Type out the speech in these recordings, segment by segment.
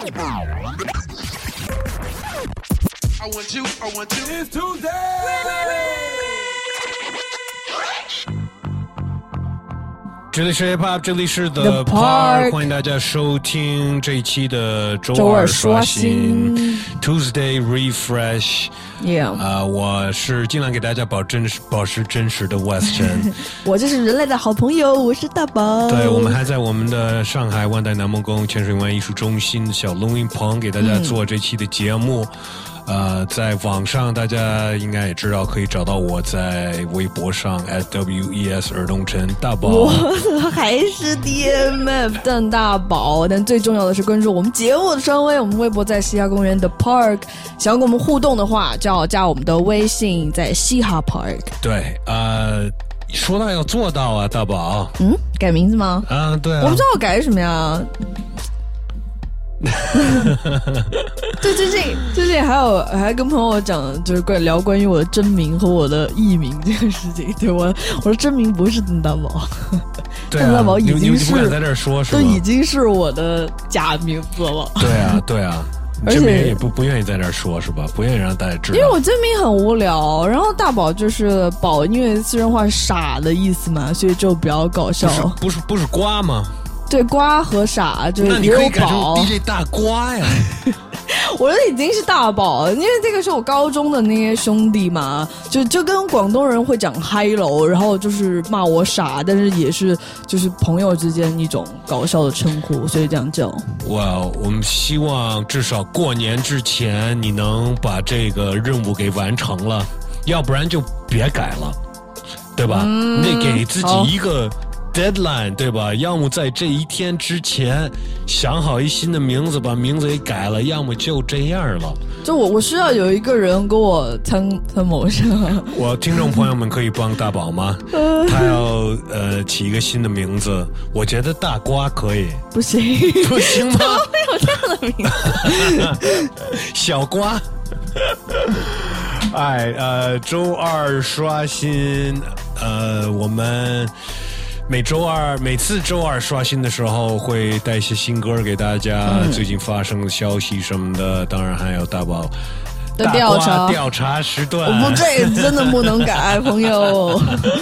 I want to. It's Tuesday. 这里是 Hip Hop， 这里是 The The Park， 欢迎大家收听这一期的周二刷新 Tuesday Refresh。Yeah， 我是尽量给大家保持真实的 Weston 我就是人类的好朋友，我是大宝。 对，我们还在我们的上海万代南梦宫潜水湾艺术中心小录音棚给大家做这期的节目。在网上大家应该也知道，可以找到我在微博上 @WES 尔东城大宝。 我还是 DMF 邓大宝，但最重要的是关注我们节目的声威，我们微博在嘻哈公园的 Park。想要跟我们互动的话，就要加我们的微信，在嘻哈 Park。 对，说到要做到啊，大宝。 改名字吗？ 对啊。 我不知道我改什么呀。对，最近还跟朋友讲，就是聊关于我的真名和我的艺名这个事情。对，我的真名不是邓大宝， 对啊， 邓大宝已经是你不敢在这儿说，是吧？ 都已经是我的假名字了。 对啊，真名也不愿意在这儿说，是吧？不愿意让大家知道， 因为我真名很无聊。然后大宝就是宝，因为四川话傻的意思嘛，所以就比较搞笑。 不是瓜吗？ 对，瓜和傻就是那你可以改成 DJ 大瓜呀。 我已经是大宝，因为这个是我高中的那些兄弟嘛，就跟广东人会讲嗨喽，然后就是骂我傻，但是也是就是朋友之间一种搞笑的称呼，所以这样叫。 我们希望至少过年之前你能把这个任务给完成了，要不然就别改了，对吧？你得给自己一个deadline， 对吧？要么在这一天之前想好一新的名字，把名字给改了，要么就这样了。 就我需要有一个人给我参谋上。 我听众朋友们可以帮大宝吗？他要起一个新的名字，我觉得大瓜可以。 不行吗？ 怎么会有这样的名字？ 小瓜。周二刷新，我们每次周二刷新的时候会带一些新歌给大家，最近发生的消息什么的，当然还有大宝的调查时段。 这个真的不能改，朋友。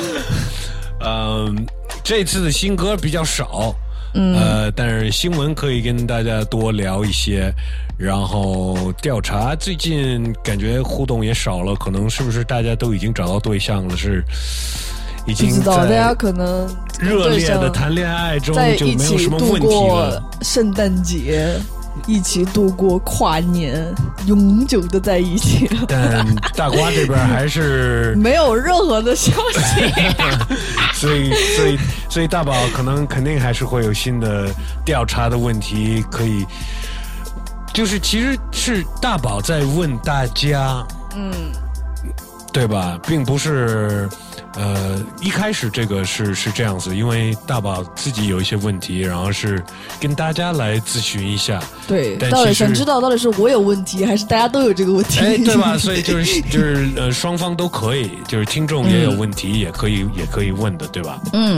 这次的新歌比较少，但是新闻可以跟大家多聊一些。然后调查最近感觉互动也少了，可能是不是大家都已经找到对象了？是已经在大家可能热烈的谈恋爱中就没有什么问题了。 圣诞节一起度过跨年，永久的在一起。 但大瓜这边还是没有任何的消息。 所以大宝肯定还是会有新的调查的问题，可以就是其实是大宝在问大家，对吧？并不是一开始这个是这样子，因为大宝自己有一些问题，然后是跟大家来咨询一下。对， 到底想知道到底是我有问题，还是大家都有这个问题？ 对吧？所以就是双方都可以，就是听众也有问题，也可以问的，对吧？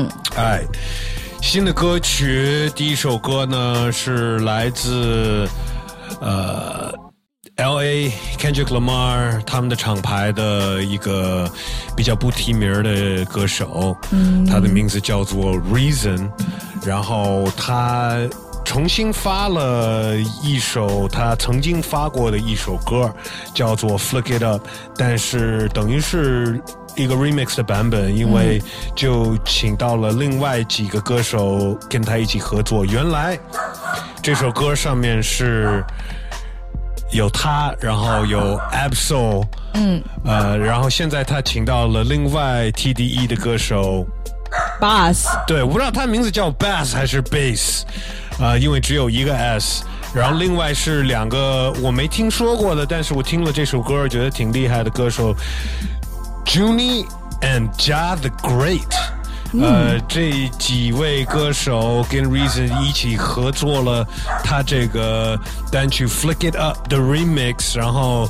新的歌曲，第一首歌呢是来自LA Kendrick Lamar 他们的厂牌的一个比较不提名的歌手，他的名字叫做 Reason， 然后他重新发了一首他曾经发过的一首歌，叫做 Flick It Up， 但是等于是一个 remix 的版本，因为就请到了另外几个歌手跟他一起合作。原来这首歌上面是有他，然后有 Ab-Soul， 然后现在他请到了另外 TDE 的歌手 Bass， 对，我不知道他名字叫 Bass 还是 Bass，因为只有一个 S， 然后另外是两个我没听说过的，但是我听了这首歌觉得挺厉害的歌手 Junie and Ja the Great。这几位歌手跟 Reason 一起合作了他这个单曲 Flick It Up 的 remix， 然后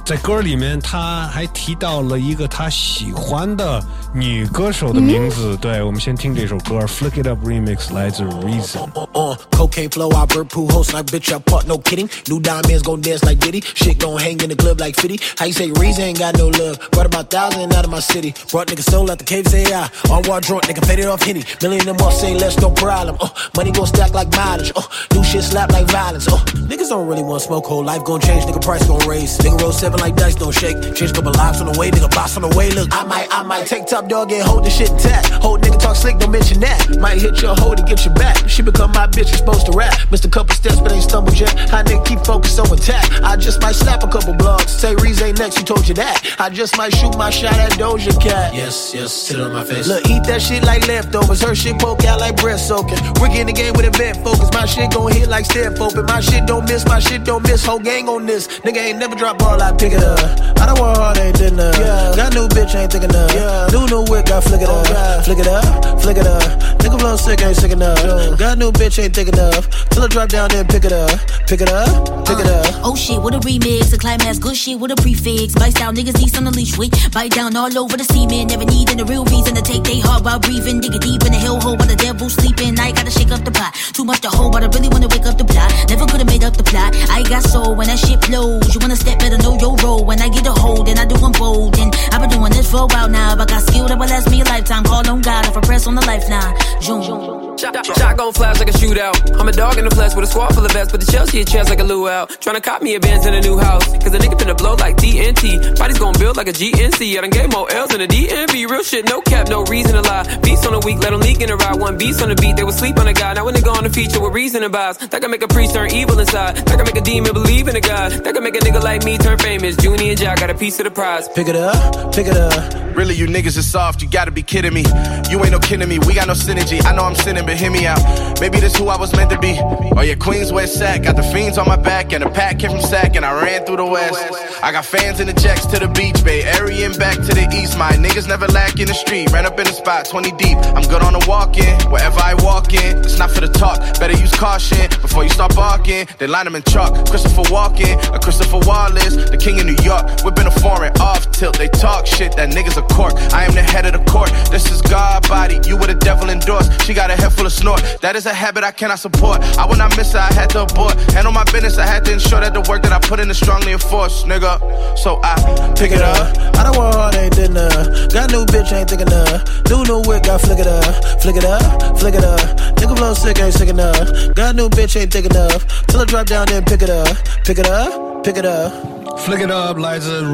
在歌里面他还提到了一个他喜欢的女歌手的名字。对，我们先听这首歌 Flick It Up Remix 来自 Reason。 Cocaine flow, I bird poo host like bitch, I part, no kidding. New diamonds gon' dance like Diddy. Shit gon' hang in the club like 50. How you say Reason ain't got no love? Brought about 1,000 out of my city. Brought niggas soul out the cave, say I. On war drunk, nigga faded off Henny. Million them off, say less, no problem. Money gon' stack like mileage. New shit slap like violence. Niggas don't really want smoke, whole life gon' change, nigga price gon' raise. Nigga roll 7 like dice, don't shake. Change a couple lives on the way, nigga boss on the way. Look, I might take top dog and hold the shit intact. Hold nigga talk slick, don't mention that. Might hit your hoe to get your back. She become my bitch, you supposed to rap. Missed a couple steps, but ain't stumbled yet. How nigga keep focus so intact. I just might slap a couple blogs. Say Reese ain't next, he told you that. I just might shoot my shot at Doja Cat. Yes, sit on my face. Look, eat that shit like leftovers. Her shit poke out like breast soaking. Ricky in the game with event focus. My shit gon' hit like step open. My shit don't miss, whole gang on this. Nigga ain't never drop ball, I pick it up. I don't want hard, ain't did enough. Yeah. Got new bitch, ain't thick enough. Yeah. New whip, got flick it up. Yeah. Flick it up, flick it up. Nigga blow sick, ain't sick enough. Yeah. Got new bitch, ain't thick enough. Till I drop down, then pick it up. Pick it up, pick it up. Oh shit, what a remix. The climax, good shit, what a prefix. Bite down, niggas need on the leash. Wait, bite down all over the semen. Never needing a real reason to take they heart while breathing. Dig it deep in the hell hole while the devil sleeping. I gotta shake up the pot. Too much to hold, but I really wanna wake up the plot. Never could've made up the plot. I got soul when that shit flows. You wanna step, better know your role. When I get a hold, then I do unfold. And I've been doing this for a while now. I got skill that will last me a lifetime. Call on God if I press on the life now. June. Shotgun flash like a shootout. I'm a dog in the flesh with a squad full of vets, but the Chelsea a chance like a luau. Tryna cop me a Benz in a new house, cause a nigga finna blow like TNT. Body's gon' build like a GNC. I done gave more L's than a DMV. Real shit, no cap, no reason to lie. Beats on the week, let them leak in the ride. One beats on the beat, they would sleep on a guy. Now when they go on the feature with reason and vibes, that can make a priest turn evil inside. That can make a demon believe in a God. That can make a nigga like me turn famous. Junie and Jack got a piece of the prize. Pick it up, pick it up. Really, you niggas is soft, you gotta be kidding me. You ain't no kidding me, we got no synergy. I know I'm sinning, but hear me out. Maybe this who I was meant to be. Oh yeah, Queens West Sac. Got the fiends on my back and a pack came from Sac and I ran through the West. I got fans in the jacks to the beach, Bay Area and back to the east. My niggas never lack in the street. Ran up in the spot, 20 deep. I'm good on the walk-in, wherever I walk in. It's not for the talk, better use caution before you start barking. They line them in chalk. Christopher Walken, a Christopher Wallace, the king of New York. Whipping a foreign off tilt. They talk shit, that nigga's a cork. I am the head of the court. This is God body, you with a devil endorsed. She got a head full of snort. That is a habit I cannot support. I will not miss it, I had to abort. Handle my business, I had to ensure that the work that I put in is strongly enforced, nigga. So I pick it up. I don't want hard, ain't did enough. Got new bitch, ain't thick enough. New whip, got flick it up. Flick it up, flick it up. Nigga blow sick, ain't sick enough. Got new bitch, ain't thick enough. Till I drop down, then pick it up. Pick it up, pick it up. Flick It Up 来自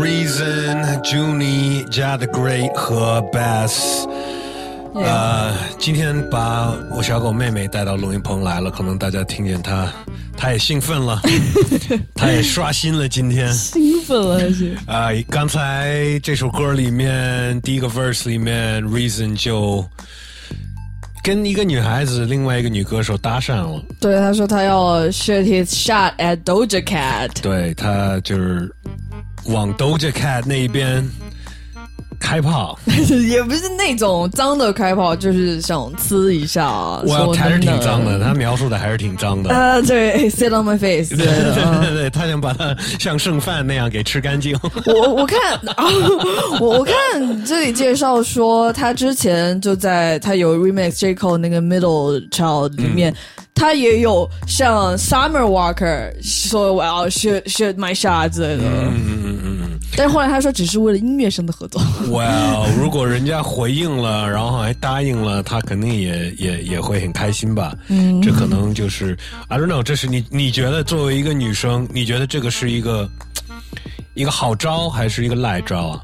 Reason、Junie 加 The Great 和 Bass。今天把我小狗妹妹带到录音棚来了，可能大家听见她也兴奋了，她也刷新了今天。 兴奋了还是？ 刚才这首歌里面第一个 verse 里面 Reason 就跟一个女孩子，另外一个女歌手搭讪了。 对，他说他要 shoot his shot at Doja Cat。 对，他就是往 Doja Cat 那边开炮， 也不是那种脏的开炮，就是想呲一下。 我还是挺脏的，他描述的还是挺脏的。 对 ，sit on my face 对。 对，他想把它像剩饭那样给吃干净。 我看我看这里介绍说，他之前就在他有 remix J Cole 那个 Middle Child 里面。他也有像 Summer Walker 说我要 shoot my shot 之类的，但是后来他说只是为了音乐上的合作。 如果人家回应了，然后还答应了，他肯定也会很开心吧。这可能就是 I don't know， 这是你觉得作为一个女生，你觉得这个是一个好招还是一个赖招啊？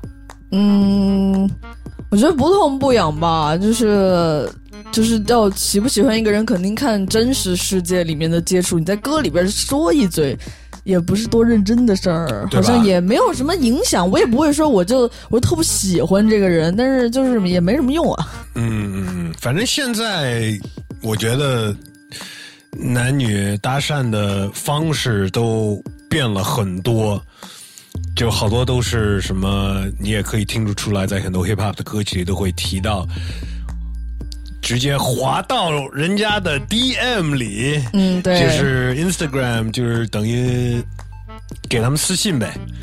我觉得不痛不痒吧，就是要喜不喜欢一个人，肯定看真实世界里面的接触。你在歌里边说一嘴，也不是多认真的事儿，好像也没有什么影响。我也不会说我特不喜欢这个人，但是就是也没什么用啊。 反正现在我觉得男女搭讪的方式都变了很多。就好多都是什么，你也可以听得出来，在很多 hip hop 的歌曲里都会提到，直接滑到人家的 DM 里，对，就是 Instagram， 就是等于给他们私信呗，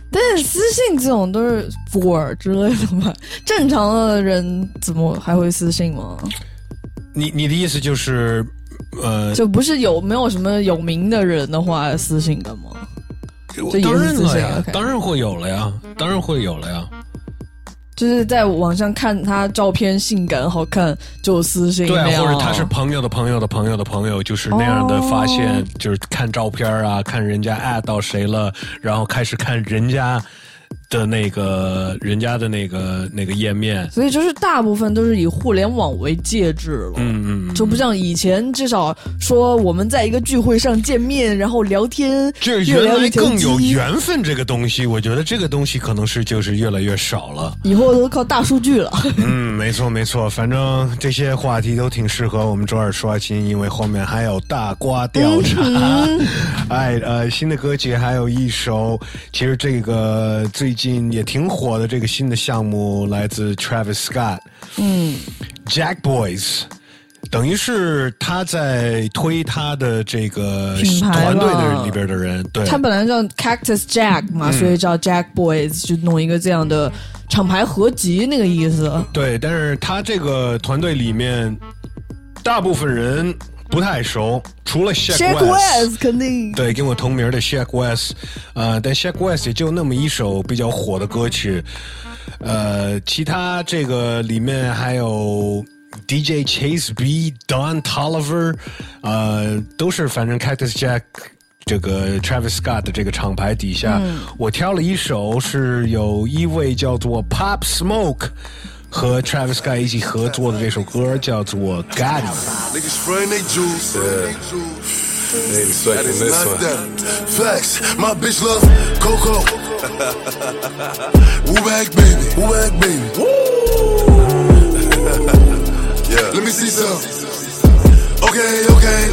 但是私信这种都是 for 之类的嘛，正常的人怎么还会私信吗？ 你的意思就是， 就不是没有什么有名的人的话私信的吗？ 当然了呀，当然会有了呀，当然会有了呀。 就是在网上看他照片性感好看就私信， 对啊，或者他是朋友的朋友的朋友的朋友，就是那样的发现，就是看照片啊，看人家@到谁了，然后开始看人家的那个页面， 所以就是大部分都是以互联网为介质了，就不像以前至少说我们在一个聚会上见面，然后聊天， 这原来更有缘分这个东西，我觉得这个东西可能是就是越来越少了， 以后都靠大数据了。 没错，反正这些话题都挺适合我们周二刷新，因为后面还有大瓜调查，新的歌曲还有一首，其实这个最近也挺火的这个新的项目来自 Travis Scott，Jack Boys， 等于是他在推他的这个团队的里边的人，对， 他本来叫 Cactus Jack 嘛，所以叫 Jack Boys， 就弄一个这样的厂牌合集那个意思。 对，但是他这个团队里面大部分人不太熟，除了 Shaq West 肯定对跟我同名的 Shaq West， 但 Shaq West 也就那么一首比较火的歌曲，其他这个里面还有 DJ Chase B、Don Toliver， 都是反正 Cactus Jack 这个 Travis Scott 的这个厂牌底下，我挑了一首是有一位叫做 Pop Smoke。和 Travis Scott 一起合作的这首歌叫做 Gotti。 Niggas spraying they juice. They expecting this one. Flex, my bitch love Coco. Woo back baby, woo back baby. Yeah. Let me see some. Okay.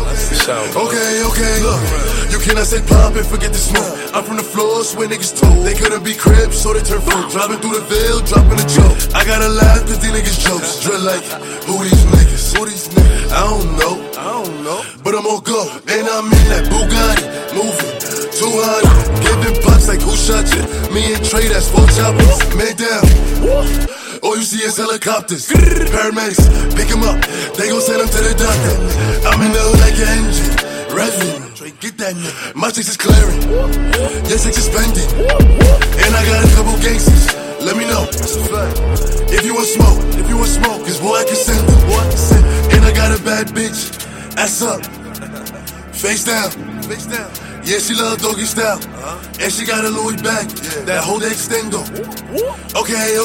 Look, you cannot say pop and forget the smoke. I'm from the floors where niggas told they couldn't be cribs, so they turn fruit. Driving through the veil, dropping a joke. I gotta laugh cause these niggas jokes. Drill like, who these niggas? I don't know. But I'm on go. And I'm in that Bugatti, moving 200. Giving bucks like who shot you? Me and Trey, that's 4 choppers. Man down. All you see is helicopters. Paramedics, pick him up. They gon' send him to the doctor. I'm in the hood like an engine. Revving. Get that nigga. My chicks is clearing. Your chicks is spending. And I got a couple gangsters. Let me know. If you want smoke, cause boy I can send them. And I got a bad bitch. Ass up. Face down. Yeah, she love doggy style. And she got a Louis bag. That whole extendo. Okay.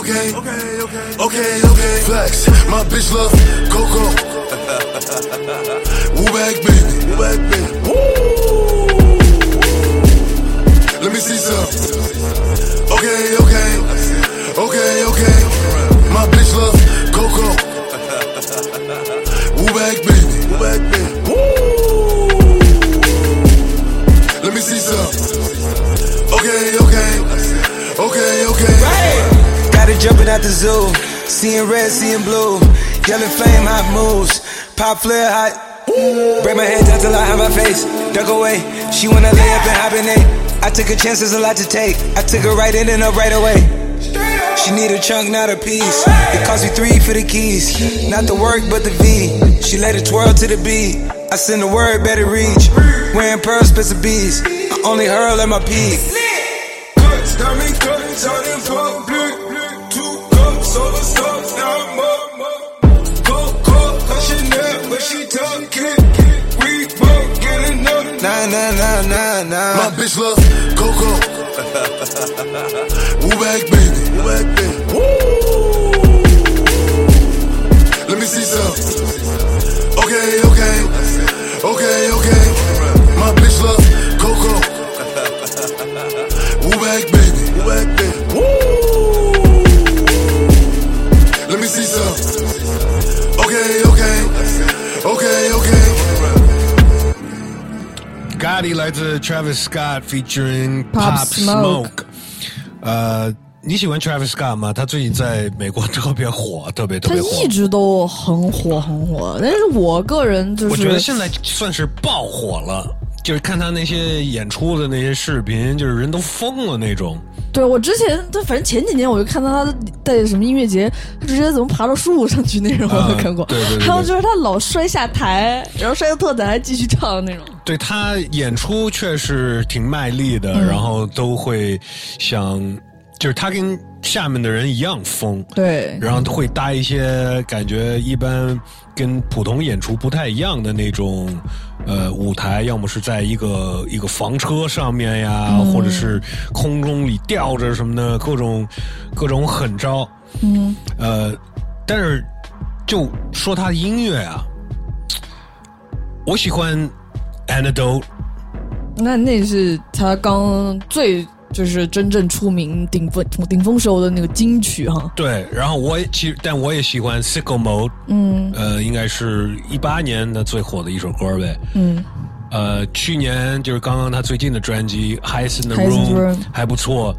Flex, my bitch love Coco. Woo back baby. Let me see some. Okay. My bitch love Coco. Woo back baby. Let me see some. Okay. Got it jumping out the zoo. Seeing red, seeing blue. Yellow flame, hot moves. Pop flare, hot. Break my head down till I have my face. Duck away. She wanna lay up and hibernate. I took a chance, there's a lot to take. I took her right in and up right away. She need a chunk, not a piece. It cost me 3 for the keys. Not the work, but the V. She let it twirl to the beat. I send the word, better reach. Wearing pearls, spits of bees. I only hurl at my peak. Cuts, diamond cuts, out in public. 2 cups, all the stuff, now I'm up. Coke, Chanel, but she talking. We both getting up. Nah. My bitch love Coco. Woo back baby. Let me see some. Okay. My bitch love Coco. Woo back baby. Let me see some. Okay. Gotti 来自 Travis Scott featuring Pop Smoke。你喜欢 Travis Scott 吗？他最近在美国特别火。他一直都很火，但是我个人就是我觉得现在算是爆火了。 就是看他那些演出的那些视频，就是人都疯了那种。 对，我之前反正前几年我就看到他在什么音乐节，他直接怎么爬到树上去那种，我都看过。 对对对。 还有就是他老摔下台，然后摔个特惨还继续唱那种。 对，他演出确实挺卖力的，然后都会想，就是他跟下面的人一样疯。 对， 然后会搭一些感觉一般跟普通演出不太一样的那种舞台，要么是在一个房车上面呀，或者是空中里吊着什么的，各种狠招。但是就说他的音乐啊，我喜欢 Antidote。 那是他刚就是真正出名顶峰时候的那个金曲哈。 对，然后但我也喜欢 Sicko Mode。应该是18年的最火的一首歌呗。去年就是刚刚他最近的专辑 Highs in the Room 还不错。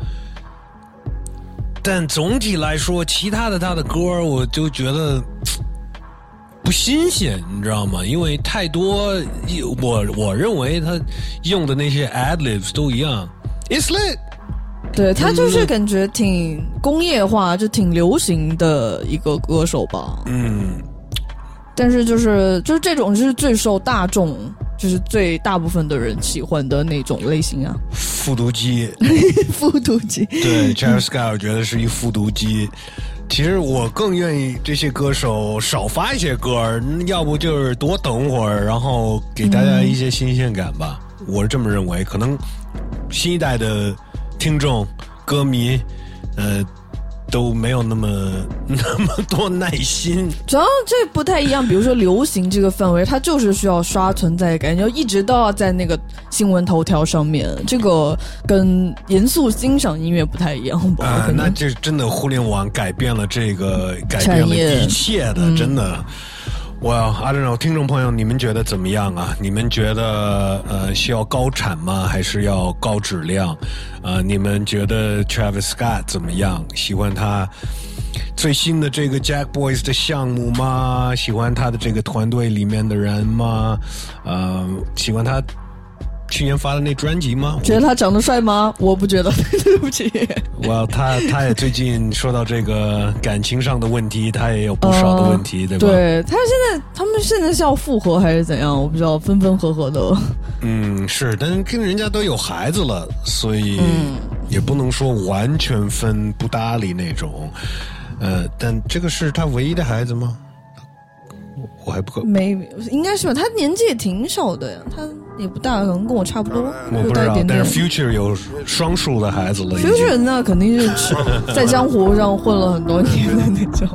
但总体来说，其他的他的歌我就觉得不新鲜，你知道吗？因为太多，我认为他用的那些 ad-libs 都一样。It's lit。 对，他就是感觉挺工业化，就挺流行的一个歌手吧。但是就是这种是最受大众，就是最大部分的人喜欢的那种类型啊。 复读机。 复读机。 对 Travis Scott 我觉得是一复读机。其实我更愿意这些歌手少发一些歌，要不就是多等会儿，然后给大家一些新鲜感吧。我是这么认为。可能新一代的听众歌迷都没有那么多耐心。 主要这不太一样，比如说流行这个范围，它就是需要刷存在感，就一直都要在那个新闻头条上面，这个跟严肃欣赏音乐不太一样吧。 那这真的互联网改变了一切的，真的。Well, I don't know， 听众朋友，你们觉得怎么样啊？你们觉得需要高产吗？还是要高质量？你们觉得 Travis Scott 怎么样？喜欢他最新的这个 Jack Boys 的项目吗？喜欢他的这个团队里面的人吗？喜欢他去年发的那专辑吗？ 觉得他长得帅吗？我不觉得，对不起。 他也最近说到这个感情上的问题，他也有不少的问题，对吧？ 对，他们现在是要复合还是怎样？我不知道，分分合合的。 是，但是跟人家都有孩子了，所以也不能说完全分不搭理那种。但这个是他唯一的孩子吗？我还不没，应该是吧？他年纪也挺小的呀，他也不大，可能跟我差不多。 我不知道，但是 Future 有双数的孩子了。 Future 那肯定是在江湖上混了很多年的那种。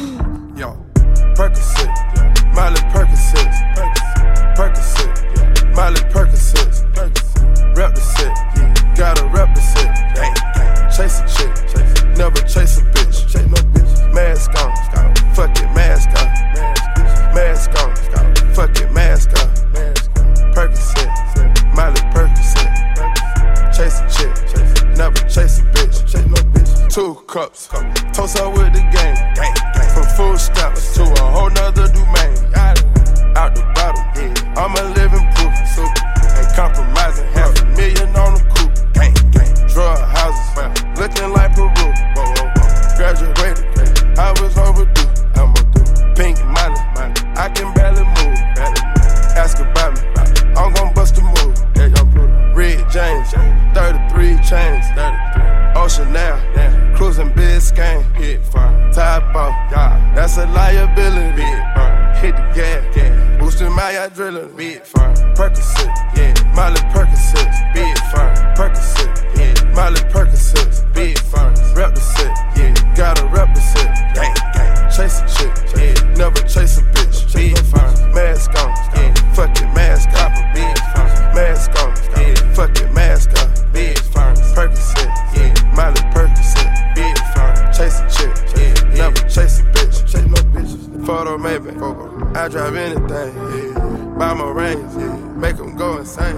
Mask on, fuck it, mask on. Percocet, Miley Percocet. Chase a chick, never chase a bitch. 2 cups, toast up with the game. From food stamps to a whole nother domain. Out the bottle, I'm a living proof. Ain't compromising, $500,000 on the coupe. Drug houses, looking like Peru. Graduated, I was overdue. Pink Molly, I can barely move. Ask about me, I'm gon' bust a move. Red James, 33 chains. Ocean now, cruising Biscayne. Top off, that's a liability. Hit the gas, boosting my adrenaline. Percocet, Miley Percocet. Percocet, Miley Percocet. Rep the set, gotta rep the set. Chase a chick, never chase a bitch. Mask on, fuck it, mask on. Mask on, fuck it, mask on. Percocet, Miley Percocet. Chase a chick, never chase a bitch. Photo maybe, I drive anything. Buy my rings, make them go insane.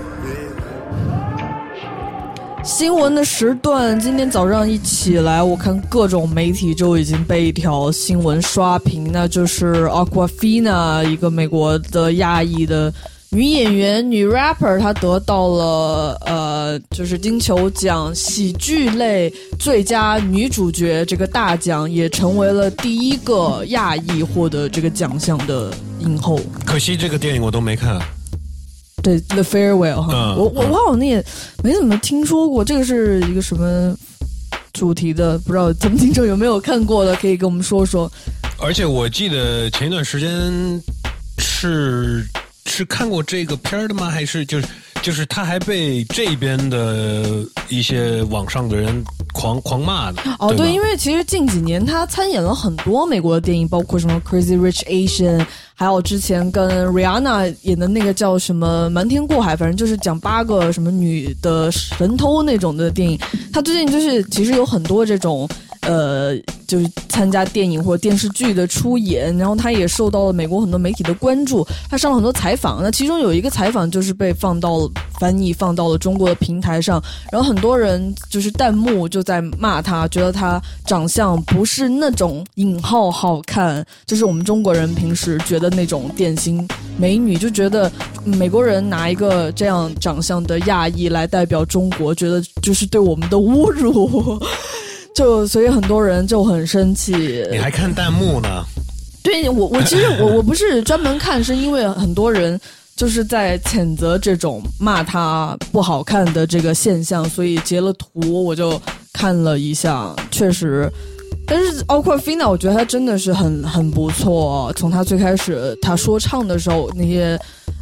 新闻的时段，今天早上一起来，我看各种媒体就已经被一条新闻刷屏，那就是 Aquafina， 一个美国的亚裔的女演员、女 rapper， 她得到了就是金球奖喜剧类最佳女主角这个大奖，也成为了第一个亚裔获得这个奖项的影后。 可惜这个电影我都没看。 对 ，The Farewell 哈，我好像也没怎么听说过，这个是一个什么主题的？不知道咱们听众有没有看过的，可以跟我们说说。 而且我记得前一段时间是看过这个片的吗？还是就是他还被这边的一些网上的人狂骂的。 哦，对，因为其实近几年他参演了很多美国的电影，包括什么 Crazy Rich Asian， 还有之前跟 Rihanna 演的那个叫什么瞒天过海，反正就是讲8个什么女的神偷那种的电影。他最近就是其实有很多这种就是参加电影或者电视剧的出演，然后他也受到了美国很多媒体的关注，他上了很多采访。那其中有一个采访就是被翻译放到了中国的平台上，然后很多人就是弹幕就在骂他，觉得他长相不是那种引号好看，就是我们中国人平时觉得那种典型美女，就觉得美国人拿一个这样长相的亚裔来代表中国，觉得就是对我们的侮辱。所以很多人就很生气。 你还看弹幕呢？ 对，我其实我不是专门看，是因为很多人就是在谴责这种骂他不好看的这个现象，所以截了图我就看了一下，确实。但是Awkwafina我觉得他真的是很不错，从他最开始他说唱的时候那些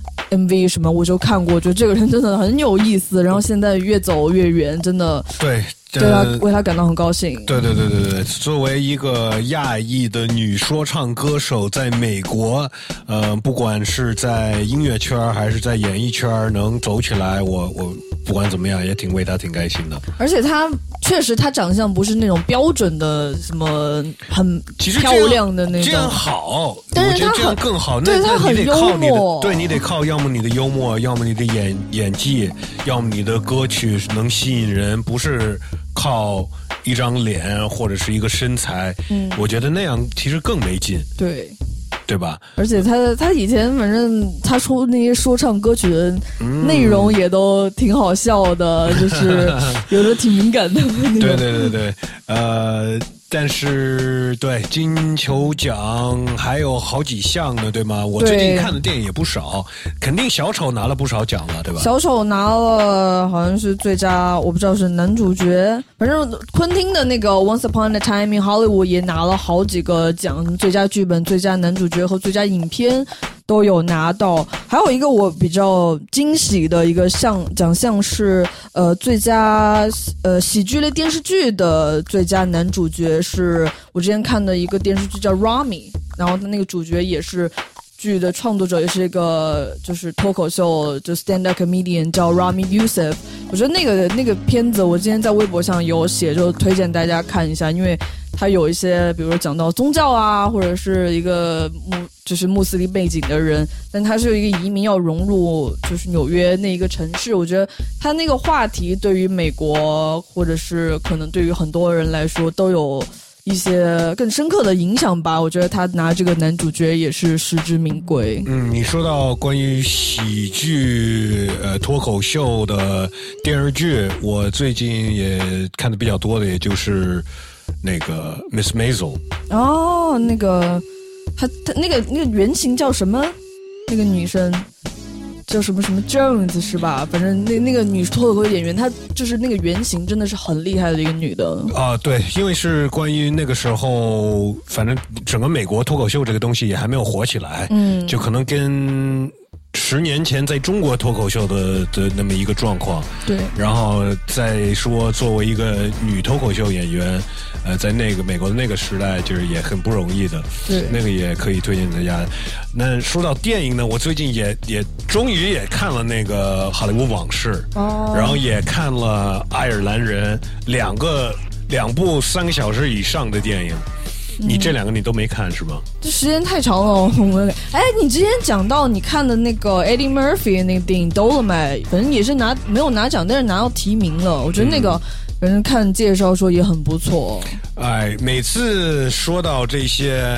MV 什么我就看过，我觉得这个人真的很有意思，然后现在越走越远，真的对他为他感到很高兴。 对，作为一个亚裔的女说唱歌手，在美国，不管是在音乐圈还是在演艺圈能走起来，我不管怎么样也挺为她挺开心的。 而且她确实，她长相不是那种标准的什么很漂亮的那种， 这样好， 但是我觉得这样更好。 对，她很幽默， 对你得靠要么你的幽默，要么你的演技，要么你的歌曲能吸引人，不是靠一张脸或者是一个身材。我觉得那样其实更没劲。对吧？而且他以前反正他出那些说唱歌曲的内容也都挺好笑的，就是有的挺敏感的。 对，但是对金球奖还有好几项呢，对吗？我最近看的电影也不少，肯定小丑拿了不少奖了，对吧？ 小丑拿了好像是最佳，我不知道是男主角，反正昆汀的那个 Once Upon a Time in Hollywood 也拿了好几个奖，最佳剧本、最佳男主角和最佳影片都有拿到。还有一个我比较惊喜的一个奖项是最佳喜剧类电视剧的最佳男主角，是我之前看的一个电视剧叫 Rami， 然后他那个主角也是剧的创作者，也是一个就是脱口秀就 stand up comedian 叫 Rami Youssef。我觉得那个片子我今天在微博上有写，就推荐大家看一下，因为他有一些比如说讲到宗教啊，或者是一个就是穆斯林背景的人，但他是一个移民要融入就是纽约那一个城市，我觉得他那个话题对于美国或者是可能对于很多人来说都有一些更深刻的影响吧。我觉得他拿这个男主角也是实至名归。 你说到关于喜剧脱口秀的电视剧，我最近也看的比较多的也就是那个 Miss Maisel。 哦，那个他那个原型叫什么？那个女生叫什么 Jones 是吧？反正那个女脱口秀演员，她就是那个原型真的是很厉害的一个女的啊。对，因为是关于那个时候，反正整个美国脱口秀这个东西也还没有火起来，就可能跟10年前在中国脱口秀的那么一个状况。 对， 然后再说作为一个女脱口秀演员，在那个美国的那个时代，就是也很不容易的。 对， 那个也可以推荐大家。那说到电影呢，我最近也终于也看了那个《好莱坞往事》，然后也看了《爱尔兰人》，两部3个小时以上的电影。你这2个你都没看是吗？ 这时间太长了。你之前讲到你看的那个 Eddie Murphy 那个电影 Dolomite， 反正也是没有拿奖，但是拿到提名了。我觉得那个反正看介绍说也很不错。 每次说到这些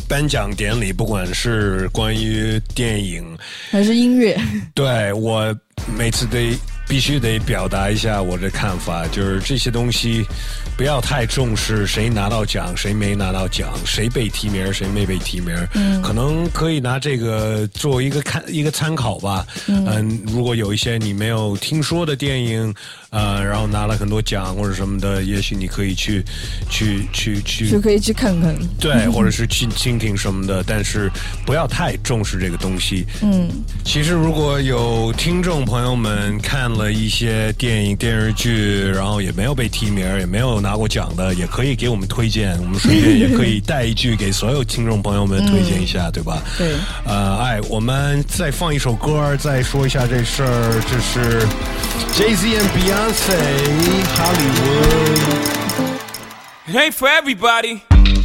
颁奖典礼，不管是关于电影还是音乐， 对我每次必须得表达一下我的看法，就是这些东西不要太重视谁拿到奖谁没拿到奖，谁被提名谁没被提名，可能可以拿这个做一个参考吧。如果有一些你没有听说的电影，然后拿了很多奖或者什么的，也许你可以去就可以去看看， 对，或者是去听听什么的，但是不要太重视这个东西。其实如果有听众朋友们看了一些电影电视剧，然后也没有被提名也没有拿过奖的，也可以给我们推荐，我们顺便也可以带一句给所有听众朋友们推荐一下，对吧？ 对。 我们再放一首歌，再说一下这事儿，这是 Jay-Z and Beyonce Hollywood. It ain't for everybody.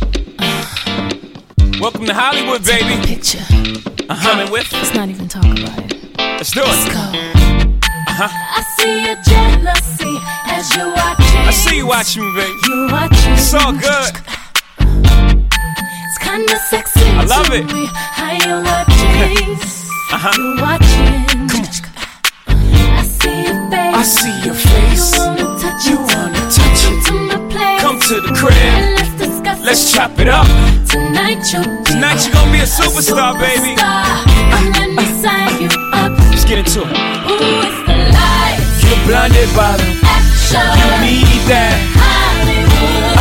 Welcome to Hollywood, baby. Picture. Coming with. Let's not even talk about it. Let's do it. Let's go. I see your jealousy as you're watching. I see you watching me, baby. You're watching. It's all good. It's kinda sexy. I love it. How you're watching. You're watching. Come on. I see your face. You wanna touch it. Come to the crib. Let's chop it up. Tonight you're gonna be a superstar, baby. Let me sign you up. Let's get into it. Ooh, it's the lights. You're blinded by the action. You need that. Hollywood.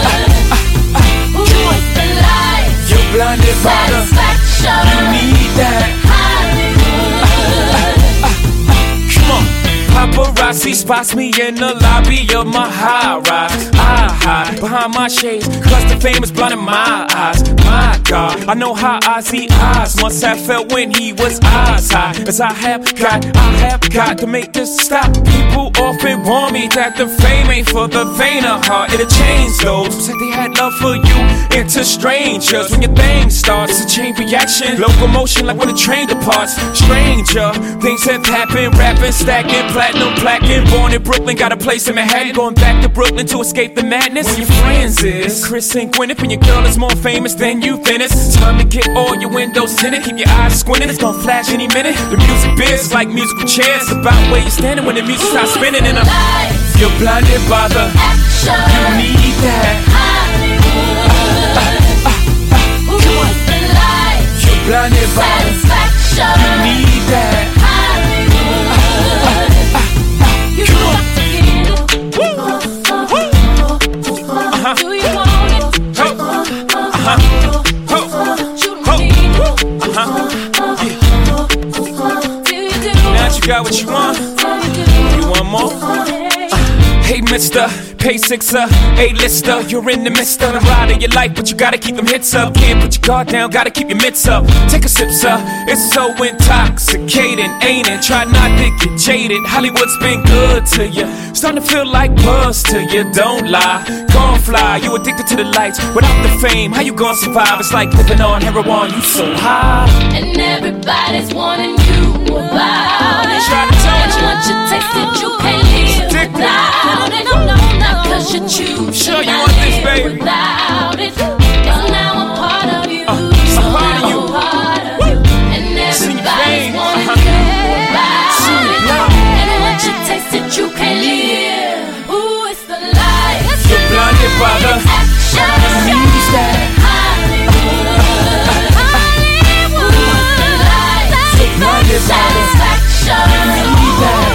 Ooh, it's the lights. You're blinded by the satisfaction. You need that. Hollywood. Come on. Paparazzi spots me in the lobby of my high rise. I hide behind my shades, cause the fame is blinding my eyes. My God, I know how I see eyes. Once I felt when he was eyes high. As I have got to make this stop. People often warn me that the fame ain't for the faint of heart. It'll change those who said they had love for you into strangers. When your thing starts to change reaction, locomotion like when a train departs. Stranger, things have happened, rapping, stacking, platinum plaquing. Born in Brooklyn, got a place in Manhattan. Going back to Brooklyn to escape the madness. When your friends is Chris and Gwyneth, and your girl is more famous than you, then it's time to get all your windows tinted. Keep your eyes squinting, it's gonna flash any minute. The music biz is like musical chairs, about where you're standing when the music starts spinning. And you're blinded by the action. You need that. Hollywood. Ooh, it's the lights. You're blinded by satisfaction. You need that. Hollywood. You got to get it. Do you want it? You don't need it. Do you do? Now you got what you want. You want more? Hey, mister, pay sixer, A-lister. You're in the midst of the ride of your life, but you gotta keep them hits up. Can't put your guard down, gotta keep your mitts up. Take a sip, sir. It's so intoxicating, ain't it? Try not to get jaded. Hollywood's been good to you. Starting to feel like buzz to you, don't lie. Gon' fly, you addicted to the lights. Without the fame, how you gon' survive? It's like living on heroin, you so high. And everybody's wanting you about it. Try to tell And once you taste it, you can't live without it. No, not cause you choose Sure to you not want this, live baby. without it. It's now a part of you. I'm part of you. And See your everybody's veins. wanting you about it. And once you taste it, you can't live. Ooh, it's the lights. You're blinded by the action. You need that. Hollywood. Ooh, it's the lights. You're blinded by the satisfaction. You need that.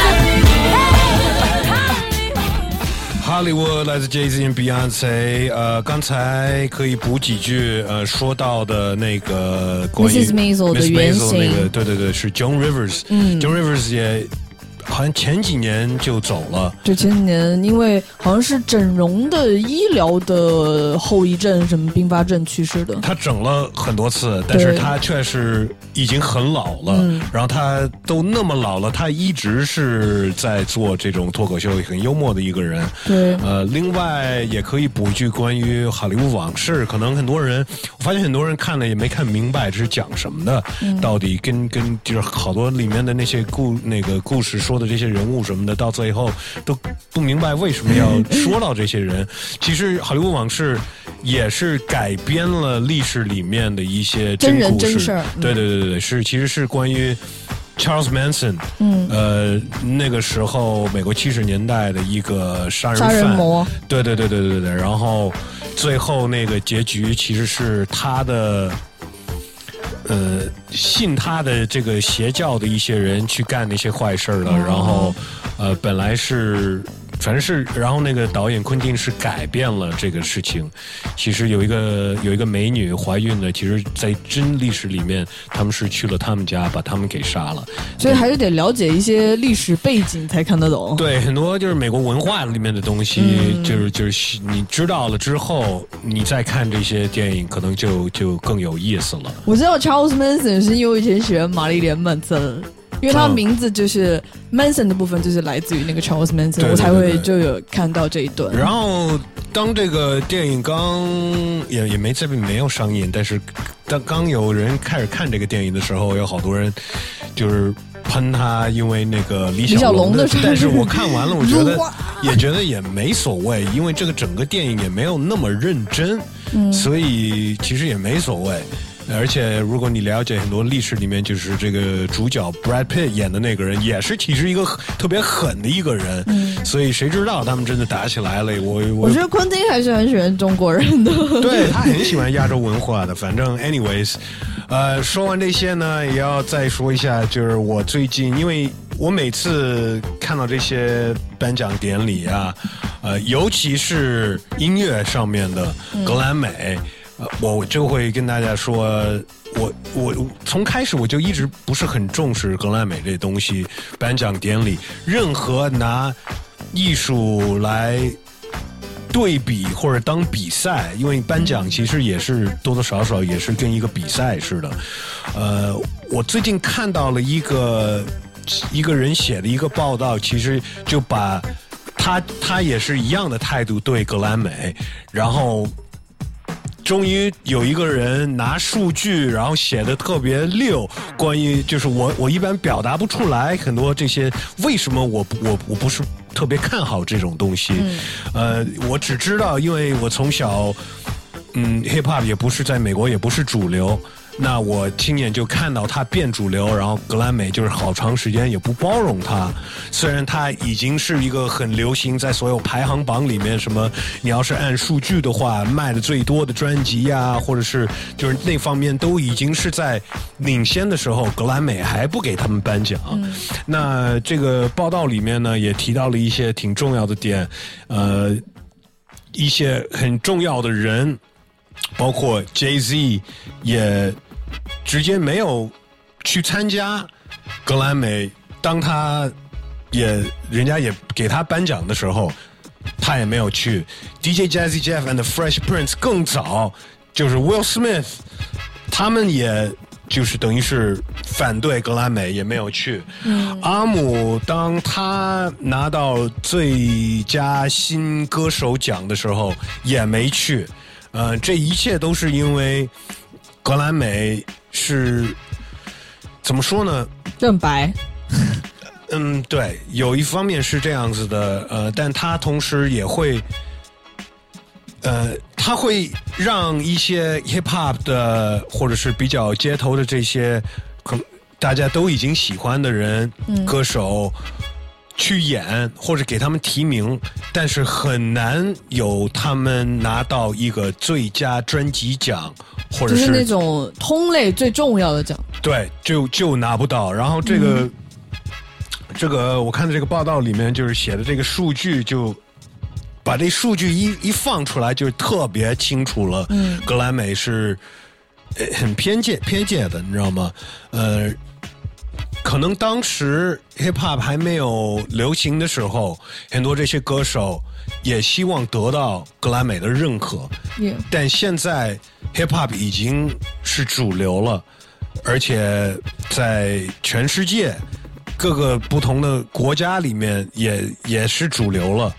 Hollywood 来自 Jay-Z and Beyonce。刚才可以补几句说到的那个关于 Mrs. Maisel 的原型， 那个对，是 Joan Rivers。Joan Rivers 也好像前几年就走了。 对，前几年因为好像是整容的医疗的后遗症，什么并发症去世的。 他整了很多次，但是他确实已经很老了。然后他都那么老了，他一直是在做这种脱口秀，很幽默的一个人。 对， 另外也可以补一句关于好莱坞往事，可能很多人，我发现很多人看了也没看明白这是讲什么的，到底跟就是好多里面的那些故事说的这些人物什么的，到最后都不明白为什么要说到这些人。其实好莱坞往事也是改编了历史里面的一些真人故事。 真事儿。 对，其实是关于 Charles Manson， 那个时候美国70年代的一个杀人魔。对，然后最后那个结局其实是他的。信他的这个邪教的一些人去干那些坏事了，然后本来是反正是，然后那个导演昆汀是改变了这个事情。其实有一个美女怀孕的，其实在真历史里面，他们是去了他们家把他们给杀了。 所以还是得了解一些历史背景才看得懂。 对，很多就是美国文化里面的东西，就是你知道了之后，你再看这些电影，可能就更有意思了。 我知道 Charles Manson 是因为我以前喜欢玛丽莲曼森。因为他名字就是 Manson 的部分就是来自于那个 Charles Manson， 我才会就有看到这一段。 然后当这个电影刚也没有上映，但是刚有人开始看这个电影的时候，有好多人就是喷他，因为那个李小龙的。但是我看完了，我觉得也没所谓，因为这个整个电影也没有那么认真，所以其实也没所谓。而且如果你了解很多历史里面，就是这个主角 Brad Pitt 演的那个人，也是其实一个特别狠的一个人，所以谁知道他们真的打起来了。我觉得昆汀还是很喜欢中国人的， 对，他很喜欢亚洲文化的。反正 anyways， 说完这些呢，也要再说一下，就是我最近，因为我每次看到这些颁奖典礼啊，尤其是音乐上面的格莱美。我就会跟大家说，我从开始我就一直不是很重视格莱美这东西，颁奖典礼，任何拿艺术来对比或者当比赛，因为颁奖其实也是多多少少也是跟一个比赛似的。我最近看到了一个人写的一个报道，其实就把他也是一样的态度对格莱美，然后终于有一个人拿数据，然后写的特别溜，关于就是我一般表达不出来很多这些为什么我不是特别看好这种东西。我只知道，因为我从小hip hop 也不是在美国也不是主流，那我亲眼就看到它变主流，然后格莱美就是好长时间也不包容它。虽然它已经是一个很流行，在所有排行榜里面，什么你要是按数据的话，卖的最多的专辑呀，或者是就是那方面都已经是在领先的时候，格莱美还不给他们颁奖。那这个报道里面呢，也提到了一些挺重要的点，一些很重要的人，包括 Jay-Z 也直接没有去参加格莱美，当人家也给他颁奖的时候，他也没有去。DJ Jazzy Jeff and the Fresh Prince 更早，就是 Will Smith， 他们也就是等于是反对格莱美，也没有去。阿姆当他拿到最佳新歌手奖的时候也没去。这一切都是因为格莱美是怎么说呢？ 正白。 对，有一方面是这样子的，但他同时也会，他会让一些 hip hop 的或者是比较街头的这些，大家都已经喜欢的人，歌手去演或者给他们提名，但是很难有他们拿到一个最佳专辑奖，或者是就是那种通类最重要的奖。 对，就拿不到。然后这个我看的这个报道里面就是写的这个数据，就把这数据一放出来，就特别清楚了。格莱美是很偏见的，你知道吗？可能当时 hip hop 还没有流行的时候，很多这些歌手也希望得到格莱美的认可。但现在 hip hop 已经是主流了，而且在全世界各个不同的国家里面也是主流了。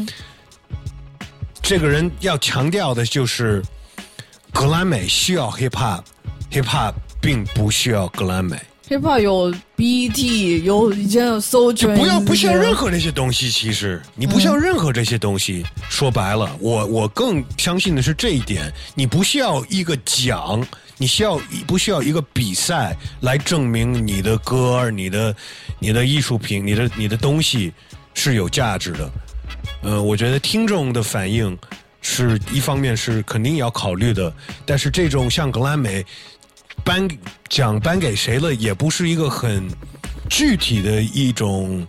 这个人要强调的就是格莱美需要 hip hop， hip hop 并不需要格莱美。 hiphop 有 BET， 有以前有 Soul Train， 不像任何那些东西。其实你不像任何这些东西。说白了，我更相信的是这一点。你不需要一个奖，不需要一个比赛来证明你的歌、你的艺术品、你的东西是有价值的。我觉得听众的反应是一方面是肯定要考虑的，但是这种像格莱美奖颁给谁了，也不是一个很具体的一种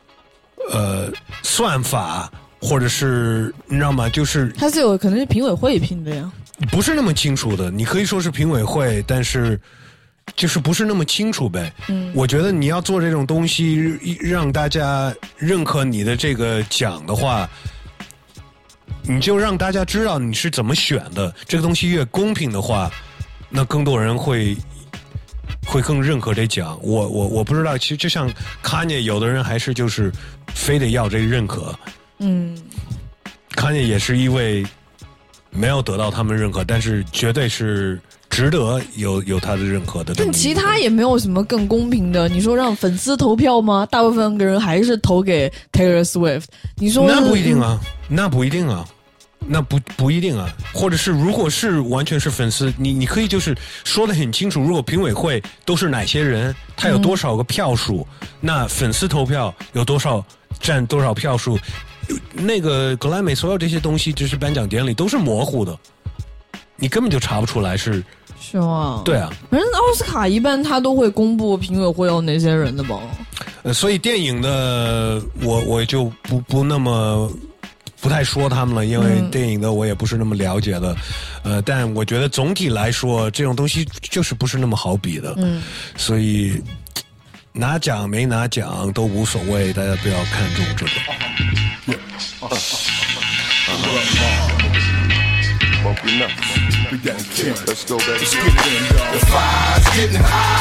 算法，或者是你知道吗？就是它是有可能是评委会评的呀， 不是那么清楚的。你可以说是评委会，但是就是不是那么清楚呗。我觉得你要做这种东西，让大家认可你的这个奖的话，你就让大家知道你是怎么选的。这个东西越公平的话，那更多人会更认可这奖。我不知道，其实就像 Kanye， 有的人还是就是非得要这个认可。Kanye 也是一位没有得到他们认可，但是绝对是值得有他的认可的。 但其他也没有什么更公平的。你说让粉丝投票吗？大部分人还是投给 Taylor Swift。你说那不一定啊，那不一定啊。那不一定啊，或者是如果是完全是粉丝，你可以就是说得很清楚，如果评委会都是哪些人，他有多少个票数，那粉丝投票有多少占多少票数，那个格莱美所有这些东西，就是颁奖典礼都是模糊的，你根本就查不出来是吗？ 对啊， 反正奥斯卡一般他都会公布评委会有哪些人的吧。 所以电影的我就不那么。不太说他们了，因为电影的我也不是那么了解的，但我觉得总体来说，这种东西就是不是那么好比的，所以拿奖没拿奖都无所谓，大家不要看重这个。 Let's go, baby. The fire's getting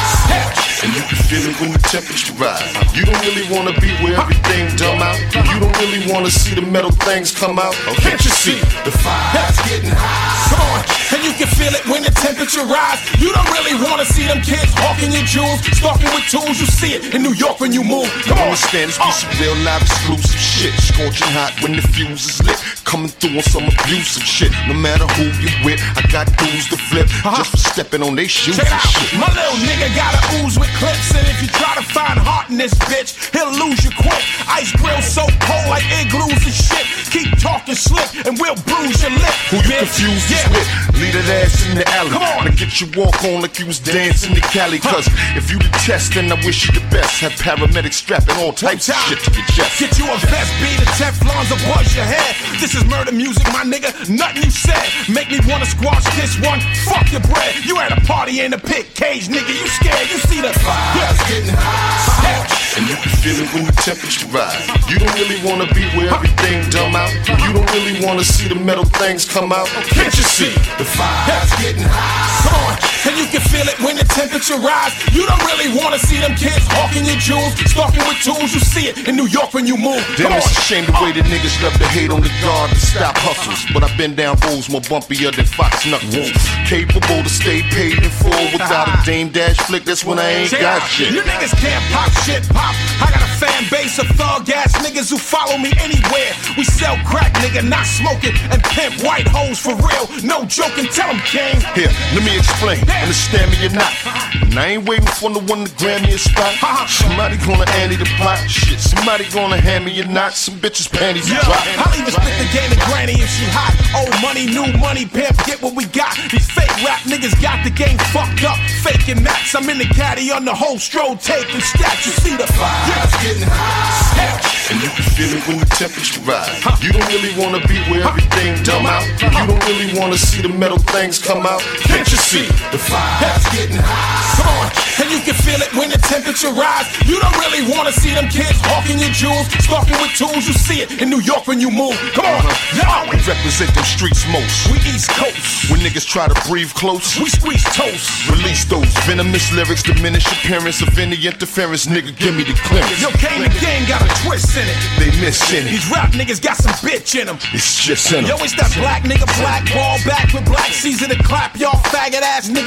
hot, and you can feel it when the temperature rise. You don't really wanna be where everything dumb out. You don't really wanna see the metal things come out. Can't you see? The fire's getting hot. Come on, and you can feel it when the temperature rise. You don't really wanna see them kids hawking your jewels, stalking with tools. You see it in New York when you move. Come on, understand this piece of real live exclusive shit. Scorching hot when the fuse is lit. Coming through on some abusive shit. No matter who you with, I got dudes to flip just for stepping on they shoes and shit. My little nigga got a ooze with clips, and if you try to find heart in this bitch, he'll lose you quick. Ice grill so cold like igloos and shit. Keep talking slick and we'll bruise your lip. Who you confused this with? Leave that ass in the alley. Come on. Now get your walk on like you was dancing to Cali. Cause if you the test, then I wish you the best. Have paramedics strapping all types of shit to your chest. Get you a vest, beat a Teflon's above your head. This is murder music, my nigga. Nothing you said make me wanna squash this one. Fuck your bread. You at a party in a pit cage, nigga. You scared? You see the fire's getting hot, and you can feel it when the temperature rise. You don't really wanna be where everything dumb out. You don't really wanna see the metal things come out. Can't you see? The fire's getting hot. Come on, and you can feel it when the temperature rise. You don't really wanna see them kids hawking your jewels, stalking with tools. You see it in New York when you move. Damn, it's a shame the way the niggas love to hate on the guard to stop hustles. But I've been down roads more bumpier than Fox Knuckles. Capable to stay paid in full without a Dame Dash flick. That's when I ain't got shit. You niggas can't pop shit pop. I got a fan base of thug ass niggas who follow me anywhere. We sell crack, nigga, not smoking, and pimp white hoes for real. No joking, tell them, King. Here, let me explain. Understand me or not. And I ain't waiting for the one to grab me a spot. Somebody gonna Andy the pot. Shit, somebody gonna hand me a knot. Some bitches panties to drop. I'll even split the game to granny if she hot. Old money, new money, pimp, get what we got. These fake rap niggas got the game fucked up. Faking mats, I'm in the caddy on the whole stroll taking stats. You see the fire's getting hot, and you can feel it when the temperature rise. You don't really wanna be where everything dumb out. You don't really wanna see the metal things come out. Can't you see? The fire's getting hot. Come on, and you can feel it when the temperature rise. You don't really wanna see them kids hawking your jewels, stalking with tools. You see it in New York when you move. Come on, yo. We represent them streets most. We East Coast. When niggas try to breathe close, we squeeze toast. Release those venomous lyrics, diminish appearance of any interference. Nigga, give me the clearance. Yo, Kane the game got a twist in it. They missing it. These rap niggas got some bitch in them. It's just in them. Yo, it's that black nigga black ball back with black season to clap. Y'all faggot ass niggas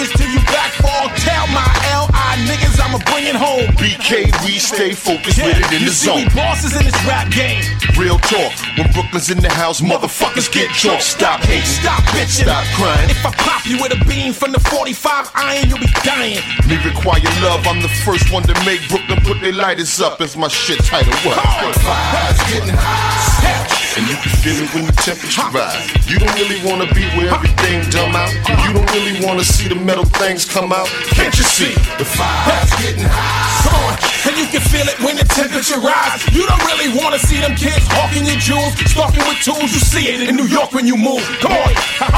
this till you backfall. Tell my LI niggas I'ma bring it home. BK, we stay focused with it in the zone. You see, we bosses in this rap game. Real talk, when Brooklyn's in the house, motherfuckers get chalk. Stop hating, Stop bitching. stop crying. If I pop you with a beam from the 45 iron, you'll be dying. Me require love, I'm the first one to make Brooklyn put their lighters up as my shit title was. Fire's getting high, and you can feel it when the temperature rise. You don't really wanna be where everything dumb out. You don't really wanna see the metal things come out. Can't you see? The fire's getting high. Come on, and you can feel it when the temperature rise. You don't really wanna see them kids hawking your jewels, stalking with tools. You see it in New York when you move. Come on,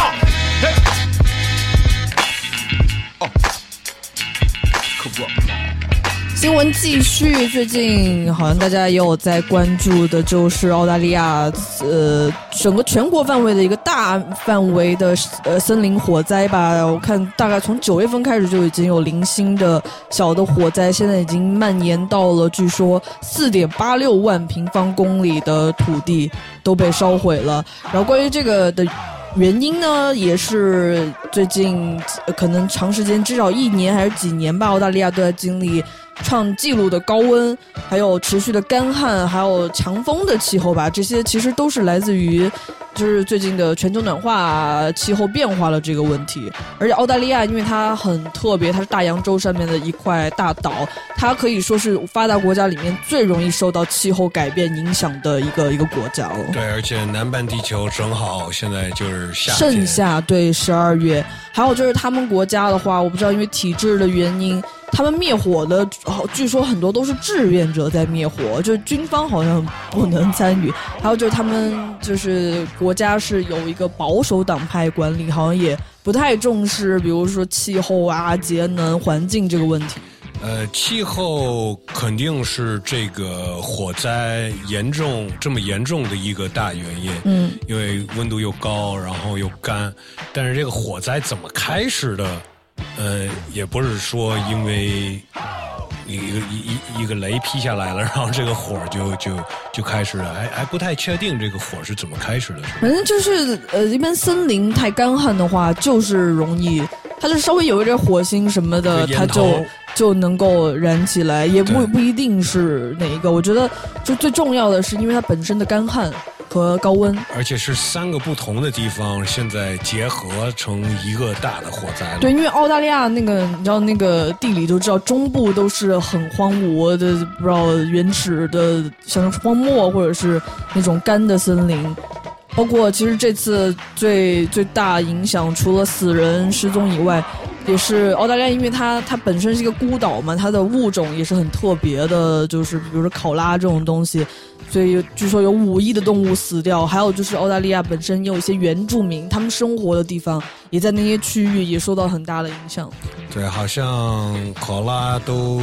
新闻继续，最近好像大家也有在关注的，就是澳大利亚整个全国范围的一个大范围的森林火灾吧。我看大概从9月份开始就已经有零星的小的火灾，现在已经蔓延到了据说4.86万平方公里的土地都被烧毁了。然后关于这个的原因呢，也是最近可能长时间，至少1年还是几年吧，澳大利亚都在经历创纪录的高温，还有持续的干旱，还有强风的气候吧，这些其实都是来自于就是最近的全球暖化、气候变化了这个问题。而且澳大利亚因为它很特别，它是大洋洲上面的一块大岛，它可以说是发达国家里面最容易受到气候改变影响的一个国家了。 对，而且南半地球正好现在就是夏天， 盛夏，对，12月。还有就是他们国家的话，我不知道因为体制的原因，他们灭火的据说很多都是志愿者在灭火，就是军方好像不能参与。还有就是他们就是国家是有一个保守党派管理，好像也不太重视比如说气候啊、节能、环境这个问题。 气候肯定是这个火灾这么严重的一个大原因。因为温度又高，然后又干。但是这个火灾怎么开始的？也不是说因为一个雷劈下来了，然后这个火就开始了，还不太确定这个火是怎么开始的。 反正就是一般森林太干旱的话，就是容易，它就稍微有一点火星什么的，它就能够燃起来，也不一定是哪一个。我觉得就最重要的是，因为它本身的干旱和高温，而且是3个不同的地方现在结合成一个大的火灾了。 对，因为澳大利亚那个你知道那个地理都知道，中部都是很荒芜的，不知道原始的像荒漠或者是那种干的森林。包括其实这次最大影响，除了死人失踪以外，也是澳大利亚，因为它本身是一个孤岛嘛，它的物种也是很特别的，就是比如说考拉这种东西，所以据说有5亿的动物死掉。还有就是澳大利亚本身也有一些原住民，他们生活的地方也在那些区域也受到很大的影响。 对，好像考拉都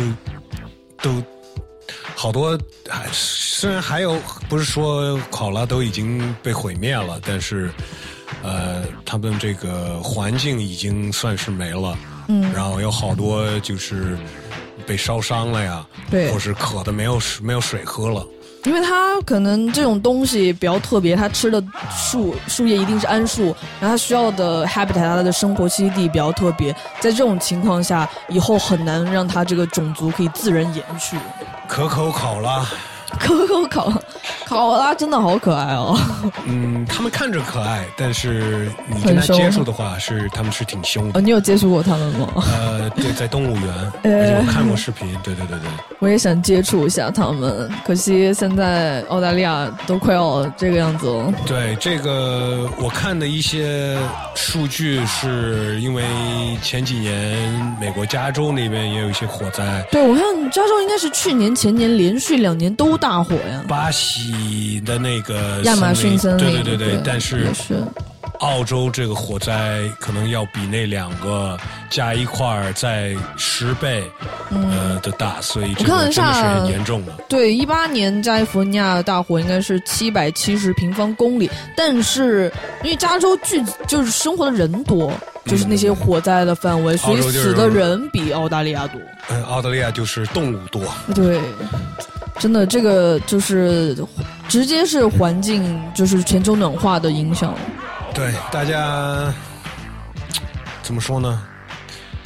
好多，虽然还有不是说考拉都已经被毁灭了，但是他们这个环境已经算是没了。然后有好多就是被烧伤了呀， 对， 或是渴的没有水喝了。 因为它可能这种东西比较特别，它吃的树叶一定是桉树，然后它需要的 habitat 它的生活栖地比较特别，在这种情况下，以后很难让它这个种族可以自然延续。 可口考拉， 考拉真的好可爱哦。 他们看着可爱，但是你跟他接触的话，他们是挺凶的。 你有接触过他们吗？ 对，在动物园，而且我看过视频。对。 我也想接触一下他们，可惜现在澳大利亚都快要这个样子了。 对，这个我看的一些数据是因为前几年美国加州那边也有一些火灾。 对，我看加州应该是去年前年连续2年都大火呀。 巴西的那个亚马逊森林， 对，但是澳洲这个火灾可能要比那2个加一块儿再10倍的大，所以这个真的是很严重的。 对，18年加利福尼亚的大火应该是770平方公里，但是因为加州就是生活的人多，就是那些火灾的范围，所以死的人比澳大利亚多。 澳大利亚就是动物多。 对。真的，这个就是直接是环境，就是全球暖化的影响。 对，大家怎么说呢？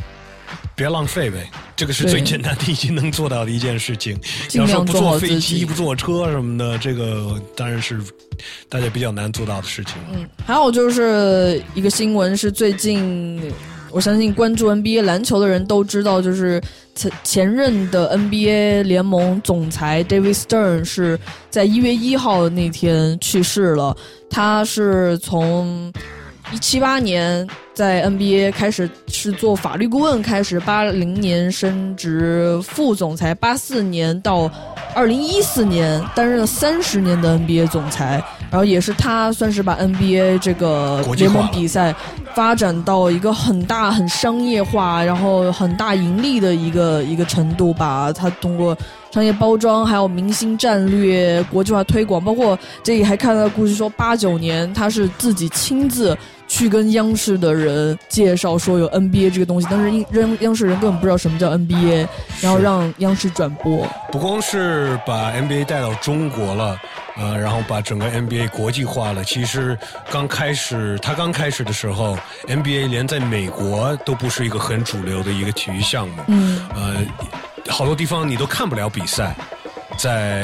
别浪费呗，这个是最简单的已经能做到的一件事情。 尽量做好自己， 要说不坐飞机不坐车什么的，这个当然是大家比较难做到的事情。 还有就是一个新闻是最近我相信关注 NBA 篮球的人都知道，就是前任的 NBA 联盟总裁 David Stern 是在1月1号那天去世了。他是从178年在 NBA 开始是做法律顾问开始，80年升职副总裁，84年到2014年担任了30年的 NBA 总裁，然后也是他算是把 NBA 这个联盟比赛发展到一个很大很商业化，然后很大盈利的一个程度吧。他通过商业包装，还有明星战略、国际化推广，包括这里还看到故事说89年他是自己亲自去跟央视的人介绍说有 NBA 这个东西，当时央视人根本不知道什么叫 NBA， 然后让央视转播。 不光是把 NBA 带到中国了，然后把整个 NBA 国际化了。其实他刚开始的时候 ，NBA 连在美国都不是一个很主流的一个体育项目。好多地方你都看不了比赛，在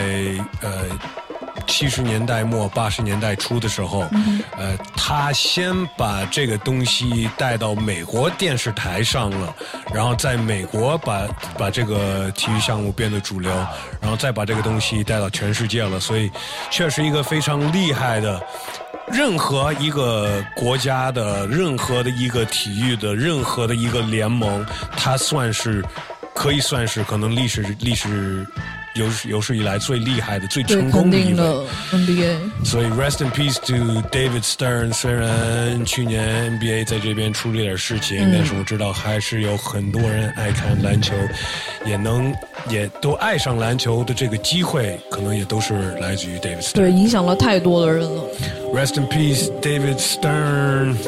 70年代末80年代初的时候，他先把这个东西带到美国电视台上了，然后在美国把这个体育项目变得主流，然后再把这个东西带到全世界了。所以确实一个非常厉害的，任何一个国家的任何的一个体育的任何的一个联盟，它可以算是可能历史有史以来最厉害的、最成功的一位 NBA。 所以 rest in peace to David Stern。虽然去年 NBA 在这边出了点事情，但是我知道还是有很多人爱看篮球，也都爱上篮球的这个机会，可能也都是来自于 David Stern。 对，影响了太多的人了。 Rest in peace, David Stern。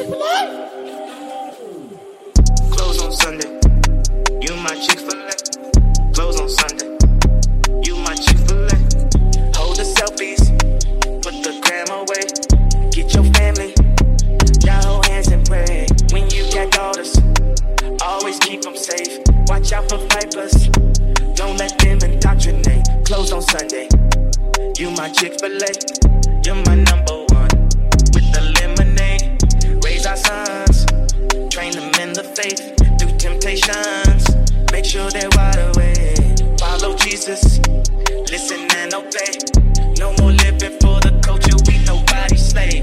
Watch out for vipers, don't let them indoctrinate. Close on Sunday, you my Chick-fil-A, you're my number one. With the lemonade, raise our sons, train them in the faith, through temptations, make sure they're wide awake. Follow Jesus, listen and obey. No more living for the culture, we nobody's slave.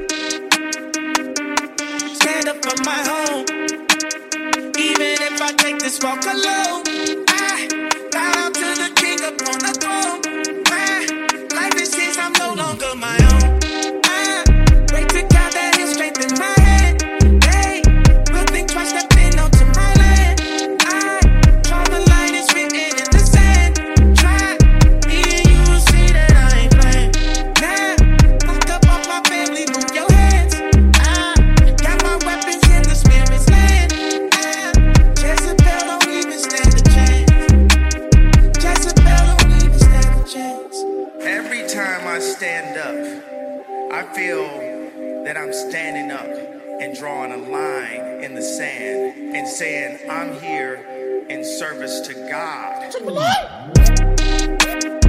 Stand up for my home. Even if I take this walk alone, I bow down to the king upon the throne. My life is his, I'm no longer my own. I pray to God that he'll strengthen my hand. Hey, will think twice stepping onto my land. I draw the line, it's written in the sand. Try me and you will see that I ain't playing. Now, look up off my family, move your hands. I got my weapons in the spirit's land. Jezebel don't even stand a chance. Jezebel don't even stand a chance. Every time I stand up, I feel that I'm standing up and drawing a line in the sand and saying, I'm here in service to God. Chick-fil-A!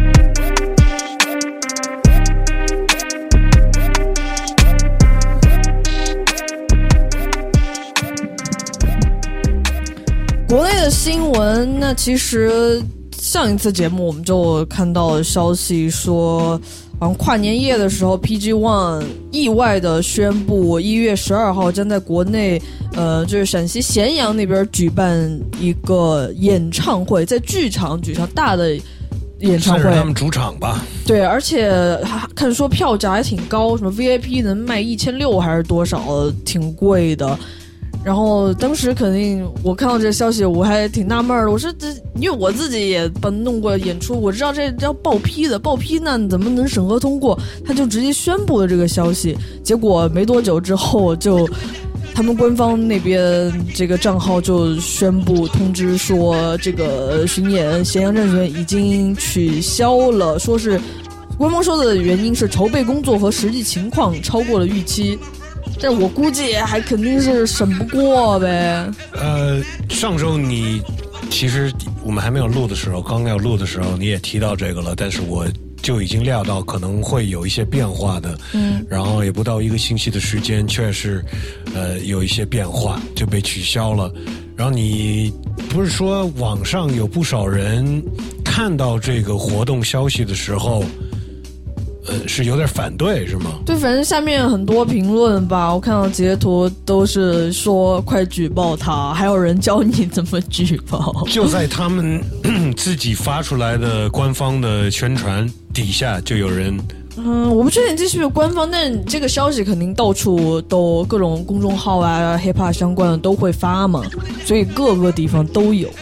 国内的新闻，那其实上一次节目我们就看到消息说，好像跨年夜的时候 PG One 意外的宣布1月12号将在国内就是陕西咸阳那边举办一个演唱会，在剧场举行大的演唱会， 算是他们主场吧。 对，而且看说票价还挺高，什么 VIP 能卖1600还是多少，挺贵的。然后当时肯定我看到这个消息我还挺纳闷的，我说这因为我自己也弄过演出，我知道这要报批的，报批那怎么能审核通过，他就直接宣布了这个消息。结果没多久之后就他们官方那边这个账号就宣布通知说，这个巡演咸阳站巡演已经取消了，说是官方说的原因是筹备工作和实际情况超过了预期。 但我估计还肯定是审不过呗。 上周你其实我们还没有录的时候，刚要录的时候你也提到这个了，但是我就已经料到可能会有一些变化的，然后也不到1个星期的时间，确实有一些变化就被取消了。然后你不是说网上有不少人看到这个活动消息的时候是有点反对是吗？ 对，反正下面很多评论吧，我看到截图都是说快举报他，还有人教你怎么举报。 就在他们自己发出来的官方的宣传底下就有人我不确定这是不是官方，但这个消息肯定到处都各种公众号啊 hiphop 相关的都会发嘛，所以各个地方都有。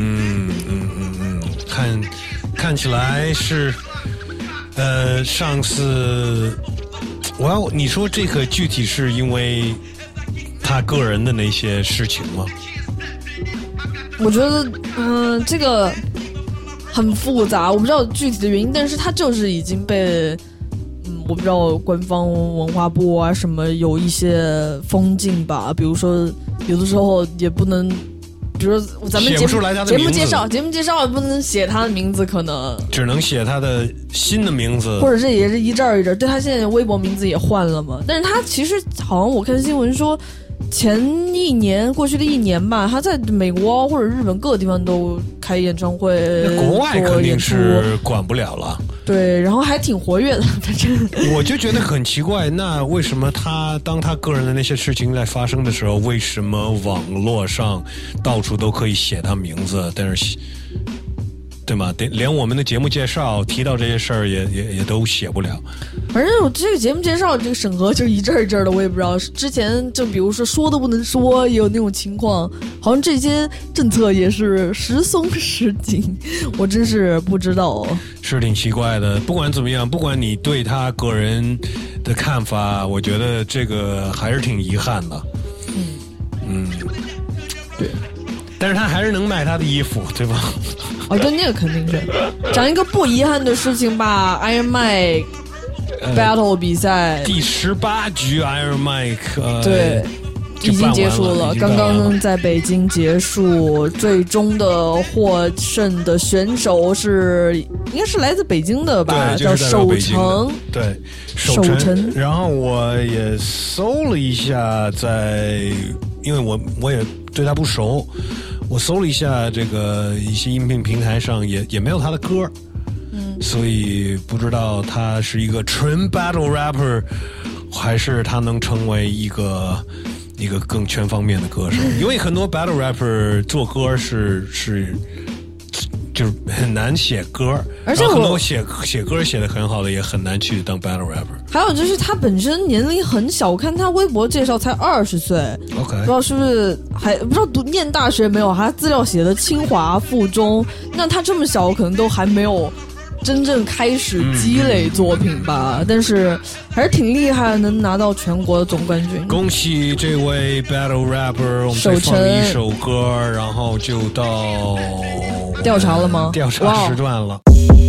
看起来是上次你说这个具体是因为他个人的那些事情吗？ 我觉得这个很复杂，我不知道具体的原因，但是他就是已经被我不知道官方文化部啊什么有一些封禁吧，比如说有的时候也不能，比如说咱们节目介绍也不能写他的名字，可能只能写他的新的名字， 或者是也是一阵一阵。对，他现在微博名字也换了嘛，但是他其实好像我看新闻说过去的一年吧，他在美国或者日本各个地方都开演唱会， 国外肯定是管不了了。 对，然后还挺活跃的，反正我就觉得很奇怪，那为什么当他个人的那些事情在发生的时候，为什么网络上到处都可以写他名字，但是对吗？连我们的节目介绍提到这些事儿也都写不了。 反正我这个节目介绍这个审核就一阵一阵的，我也不知道。之前就比如说都不能说，也有那种情况，好像这些政策也是时松时紧，我真是不知道。 是挺奇怪的。不管怎么样，不管你对他个人的看法，我觉得这个还是挺遗憾的。 对。 但是他还是能卖他的衣服，对吧？ 对，那个肯定是。讲一个不遗憾的事情吧 ，Iron Mike Battle 比赛第18局 Iron Mike 对。已经结束了，刚刚在北京结束，最终的获胜的选手应该是来自北京的吧，叫守成。 对，守成。然后我也搜了一下，因为我也对他不熟，我搜了一下这个一些音频平台上也没有他的歌，所以不知道他是一个纯 battle rapper， 还是他能成为一个更全方面的歌手。因为很多 battle rapper 做歌是就是很难写歌， 而且很多写歌写得很好的也很难去当 battle rapper。 还有就是他本身年龄很小，我看他微博介绍才20岁 ，OK， 不知道是不是不知道念大学没有，他资料写的清华附中，那他这么小可能都还没有真正开始积累作品吧，但是还是挺厉害，能拿到全国的总冠军。 恭喜这位 battle rapper， 我们再放一首歌，然后就到调查了吗？ 调查时段了。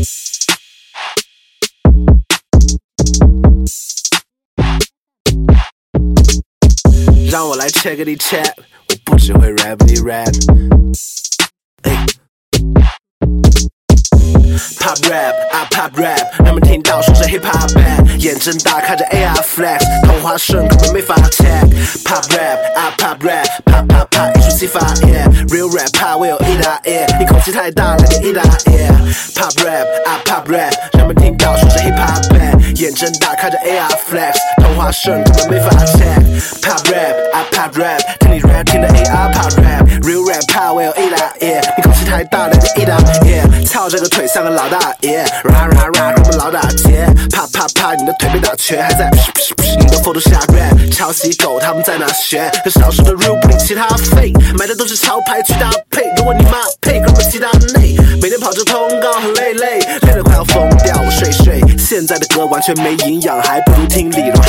让我来 check it check， 我不只会 rap it rap。Pop rap, I pop rap， 人们听到说是 hip hop bad， 眼睁大看着 AR flex， 同花顺根本没法 check。Pop rap, I pop rap， pop pop pop， 艺术激发 yeah，real rap 怕我有一打 yeah， 你口气太大来点一打 yeah。Pop rap, I pop rap， 人们听到说是 hip hop bad， 眼睁大看着 AR flex， 同花顺根本没法 check。Pop rap, I pop rap， 听你 rap 听的 AR pop rap，real rap 怕我有一打 yeah， 你口气太大来点一打 yeah， 操这个腿像个老大爷 ，ra ra ra， 我们老打劫，啪啪啪，你的腿被打瘸，还在你的 photo 下 rap， 抄袭狗他们在哪学？可少数的 real 不理其他 fake， 买的都是潮牌去搭配，如果你妈配，哥们其他内，每天跑着通告很累，累得快要疯掉，我睡，现在的歌完全没营养，还不如听李荣浩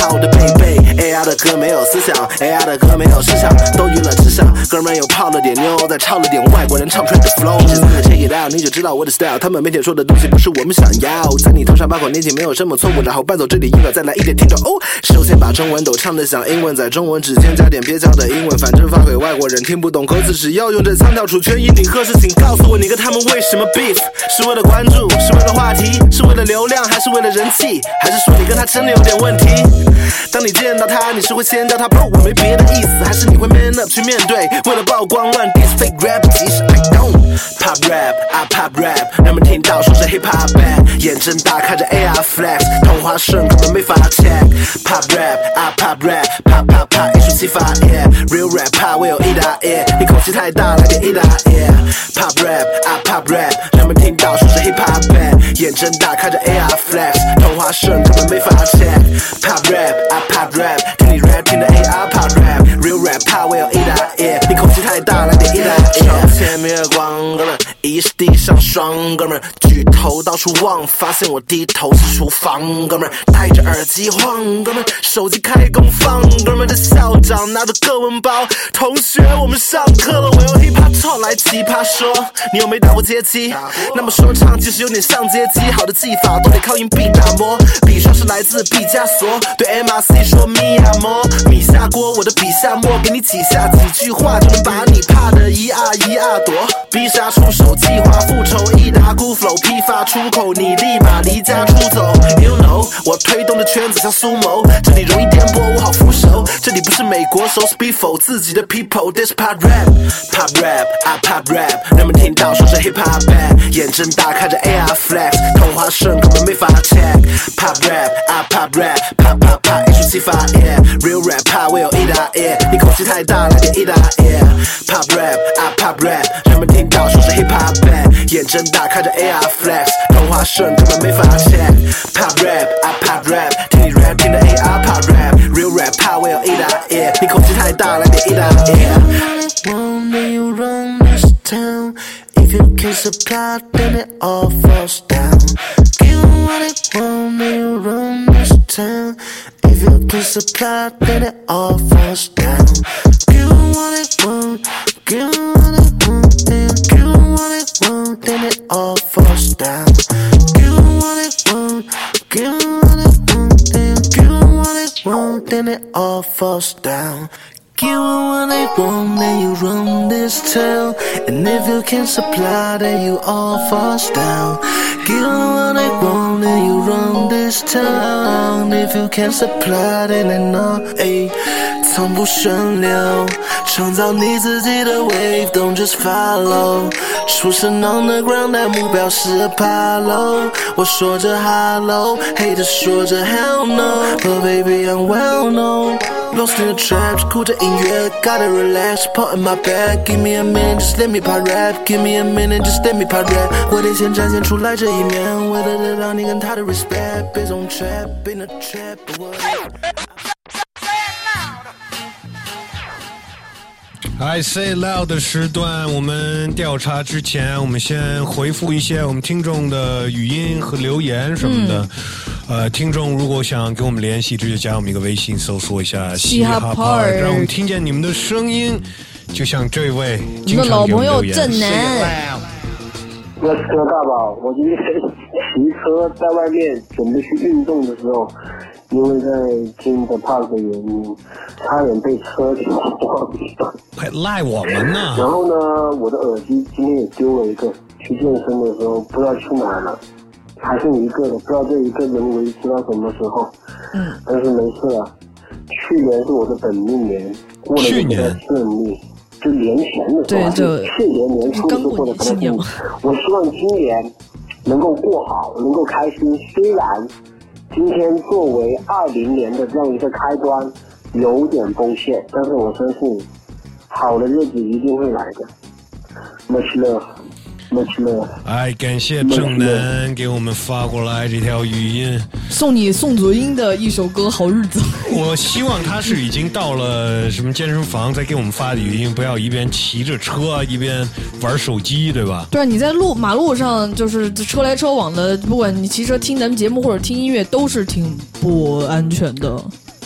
怕我的背背。AR 的歌没有思想 ，AR 的歌没有思想，都娱乐至上。哥们又泡了点妞，再抄了点外国人唱出来的 flow。这次 check it out， 你就知道我的 style。他们每天说的东西不是我们想要，在你头上8口年纪没有什么错误，然后伴奏这里音乐再来一点听着哦。首先把中文都唱得像英文，在中文之间加点蹩脚的英文，反正发给外国人听不懂歌词，只要用这腔调出全音。你何时请告诉我，你跟他们为什么 beef？ 是为了关注，是为了话题，是为了流量，还是为了人气？还是说你跟他真的有点问题？当你见到他，你是会先叫他 bro， 我没别的意思，还是你会 man up 去面对？为了曝光乱 diss fake rap， 其实 I don't pop rap， I pop rap， 人们听到说是 hip hop bad， 眼睁大看着 AR flex， 同花顺根本没法 check。 pop rap， I pop rap， pop pop pop， 艺术启发 yeah， real rap 怕我有一打 yeah， 你口气太大来点一打 yeah。 pop rap， I pop rap， 人们听到说是 hip hop bad， 眼睁大看着 AR flex， 同花顺根本没法 check。 pop rap，I pop rap， 听你 rap 听的 AR pop rap， real rap 怕我有一打 yeah， 你口气太大来点一打 yeah。 前面光哥们疑是地上霜，哥们举头到处望，发现我低头是厨房，哥们戴着耳机晃，哥们手机开功放，哥们的校长拿着课文包，同学我们上课了，我用 hip hop talk 来奇葩说，你有没打过街机？那么说唱其实有点像街机，好的技法都得靠硬币打磨，笔刷是来自毕加索，对 MRC 说咪呀么，米下锅我的笔下墨，给你几下几句话就能把你怕的一啊躲，必杀出手计划复仇一打鼓 flow 批发出口，你立马离家出走。 You know 我推动的圈子像苏谋，这里容易颠簸我好扶手，这里不是美国手 speak for 自己的 people， this pop rap pop rap I pop rap， 人们听到说是 hip hop bad， 眼睁大看着 AR flex， 同花顺根本没法 check。 pop rap I pop rap pop pop pop， 艺术启发 yeah， real rap 怕我有一打 yeah， 你口气太大来点一打 yeah。 pop rap I pop rap， 人们听到说是 hip hop bad， 眼睁大看着 AR flex， 同花顺根本没法 check。 pop rap I pop rap， 听你 rap 听的 AR pop rap， real rap 怕我有一打 yeah， 你口气太大来点一打 yeah。When you run this town, if you can't supply, then it all falls down. Give them what they want, then you run this town. If you can't supply, then it all falls down. Give them what they want, give them what they want, then give them what they want, then it all falls down. Give them what they want, give them what they want, then give them what they want, then it all falls down. Give them what they want, then you run this town. And if you can't supply, then you all falls down. Give them what they want, then you run this town. If you can't supply, then they know. 从不顺流，创造你自己的 wave， don't just follow。出身 underground， 但目标是爬楼。我说着 hello， haters 说着 hell no，but baby I'm well known。Lost in the traps， 哭着音乐 ，gotta relax，put in my bag，give me a minute，just let me pop rap，give me a minute，just let me pop rap。我得先展现出来这一面，为了得到你跟他的 respect， 别总 trap，in a trap。 I say loud 的时段，我们调查之前，我们先回复一些我们听众的语音和留言什么的。听众如果想跟我们联系，直接加我们一个微信，搜索一下嘻哈 part， 让我们听见你们的声音。就像这位经常给我们留言， 我的老朋友正南。 我是大宝，我今天骑车在外面准备去运动的时候，因为在听 The Park 的原因，差点被车给撞到。 还赖我们呢。 然后呢，我的耳机今天也丢了一个，去健身的时候不知道去哪了，还剩一个了，不知道这一个能维持到什么时候。但是没事了，去年是我的本命年，过得比较顺利。就年前的时候，去年年初就过得不太顺利。我希望今年能够过好，能够开心。虽然今天作为20年的这样一个开端有点崩陷，但是我相信好的日子一定会来的。Much love。Much love。 感谢正南给我们发过来这条语音， 送你宋祖英的一首歌《好日子》。 我希望他是已经到了什么健身房再给我们发的语音，不要一边骑着车一边玩手机，对吧？ 对，你在马路上就是车来车往的，不管你骑车听咱们节目或者听音乐，都是挺不安全的。